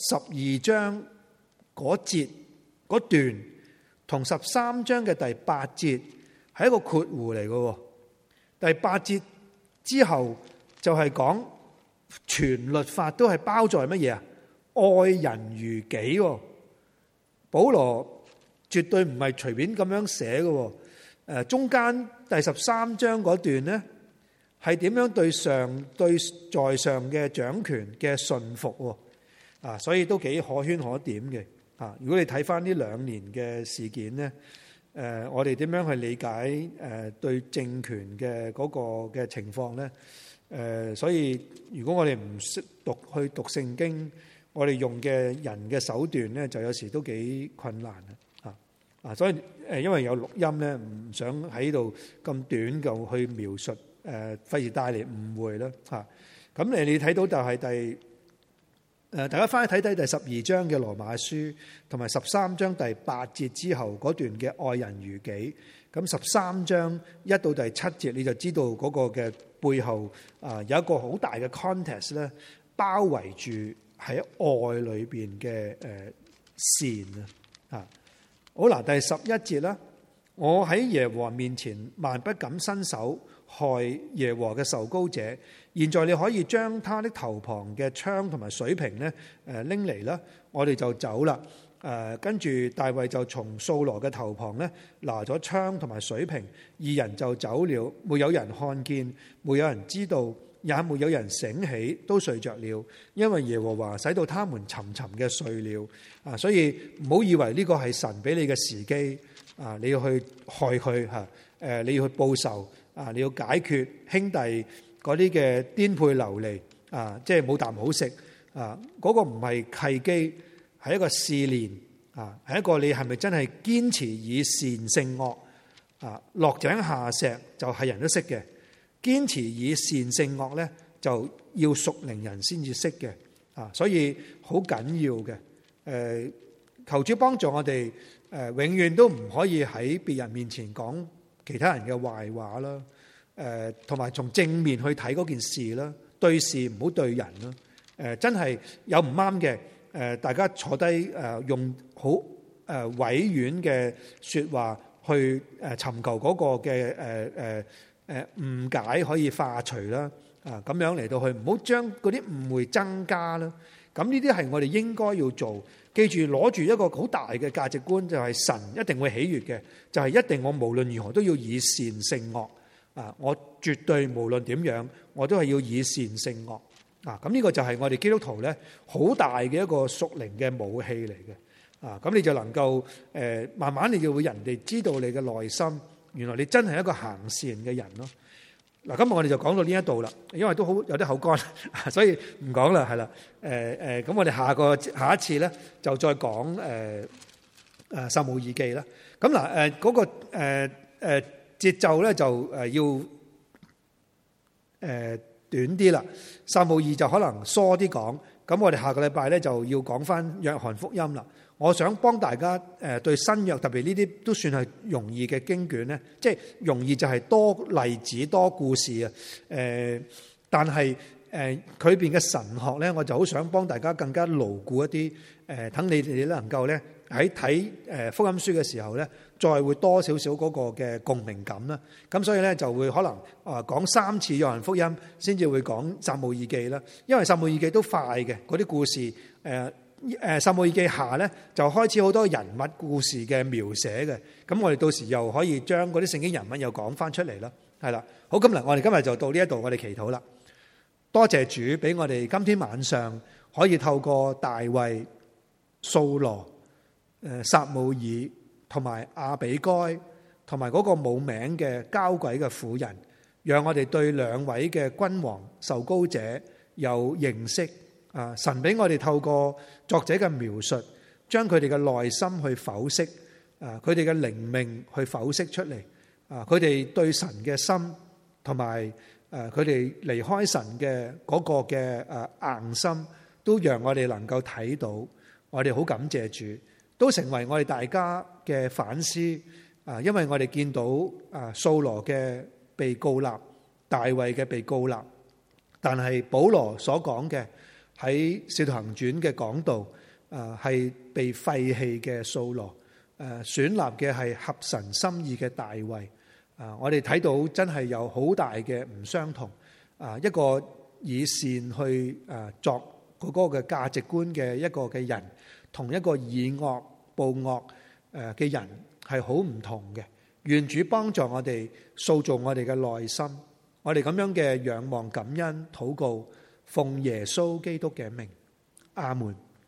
12章嗰節嗰段，同13章嘅第8節係一個括弧嚟嘅。第8節之後就係講全律法都係包在乜嘢啊？愛人如己。保羅絕對唔係隨便咁樣寫嘅。中間第13章嗰段呢，係點樣對在上嘅掌權嘅順服啊？所以都幾可圈可點嘅。如果你睇翻呢2年嘅事件呢，我哋點樣去理解對政權嘅嗰個嘅情況呢？所以如果我哋唔識去讀聖經，我哋用嘅人嘅手段呢，就有時都幾困難啊！所以因為有錄音呢，唔想喺度咁短就去描述，費事帶嚟誤會啦嚇。咁你睇到就係大家翻去睇睇第12章嘅羅馬書，同埋13章第8節之後嗰段嘅愛人如己。咁13章1到第7節，你就知道嗰個嘅背後有一個好大嘅 context 咧，包圍住喺愛裏邊嘅善啊。好嗱，第11節啦，我喺耶和華面前萬不敢伸手害耶和華嘅受膏者。現在你可以將他的頭旁嘅槍同埋水瓶咧拎嚟啦，我哋就走啦。跟住大衛就從掃羅嘅頭旁咧拿咗槍同埋水瓶，二人就走了，沒有人看見，沒有人知道，也沒有人醒起，都睡着了，因為耶和華使到他們沉沉嘅睡了。所以唔好以為呢個係神俾你嘅時機你要去害佢你要去報仇你要解決兄弟嗰啲嘅顛沛流離即係冇啖好食嗰個唔係契機，係一個試煉係一個你係咪真係堅持以善勝惡落井下石就係人都識嘅，堅持以善勝惡咧就要屬靈人先至識嘅所以好緊要嘅求主幫助我哋永遠都唔可以喺別人面前講其他人嘅壞話啦。同埋從正面去睇嗰件事啦，對事唔好對人啦。真係有唔啱嘅，大家坐低用好委婉嘅說話去尋求嗰個嘅誤解可以化除啦。咁樣嚟到去，唔好將嗰啲誤會增加啦。咁呢啲係我哋應該要做。記住攞住一個好大嘅價值觀，就係神一定會喜悅嘅，就係一定我無論如何都要以善勝惡。我絕對無論點樣，我都係要以善勝惡。咁呢個就係我哋基督徒咧好大嘅一個屬靈嘅武器嚟嘅。咁你就能夠慢慢你就會人哋知道你嘅內心，原來你真係一個行善嘅人咯。嗱，今日我哋就講到呢一度啦，因為都好有啲口乾，所以唔講啦，係啦。咁我哋下一次咧就再講撒母耳記啦。咁嗱嗰個節奏咧就要短啲啦，撒母耳就可能疏啲講， 咁我哋下個禮拜咧就要講翻約翰福音啦。我想幫大家對新約特別呢啲都算係容易嘅經卷咧，即係容易就係多例子多故事啊。但係佢邊嘅神學咧，我就好想幫大家更加牢固一啲。等你哋能夠咧喺睇福音書嘅時候咧，再會多少少嗰個嘅共鳴感啦。咁所以咧就會可能講3次約翰福音先至會講撒母耳記啦。因為撒母耳記都快嘅嗰啲故事。撒母耳記下咧就開始好多人物故事嘅描寫嘅。咁我哋到時又可以將嗰啲聖經人物又講翻出嚟啦。係啦，好，咁嗱，我哋今日就到呢一度，我哋祈禱啦。多謝主俾我哋今天晚上可以透過大衛、掃羅、撒母耳同埋亞比該同埋嗰個冇名嘅交鬼嘅婦人，讓我哋對兩位嘅君王受膏者有認識。神俾我哋透過作者嘅描述，將佢哋嘅內心去剖析，佢哋嘅靈命去剖析出嚟，佢哋對神嘅心同埋佢哋離開神嘅嗰個嘅硬心，都讓我哋能夠睇到。我哋好感謝主，都成為我哋大家嘅反思。因為我哋見到掃羅嘅被膏立，大衛嘅被膏立，但係保羅所講嘅喺使徒行傳嘅講道，係被廢棄嘅掃羅，選立嘅係合神心意嘅大衛。我哋睇到真係有好大嘅唔相同。一個以善去作嗰個嘅價值觀嘅一個嘅人，同一個以惡報惡嘅人係好唔同嘅。願主幫助我哋塑造我哋嘅內心，我哋咁樣嘅仰望、感恩、禱告，奉耶穌基督嘅名，阿門。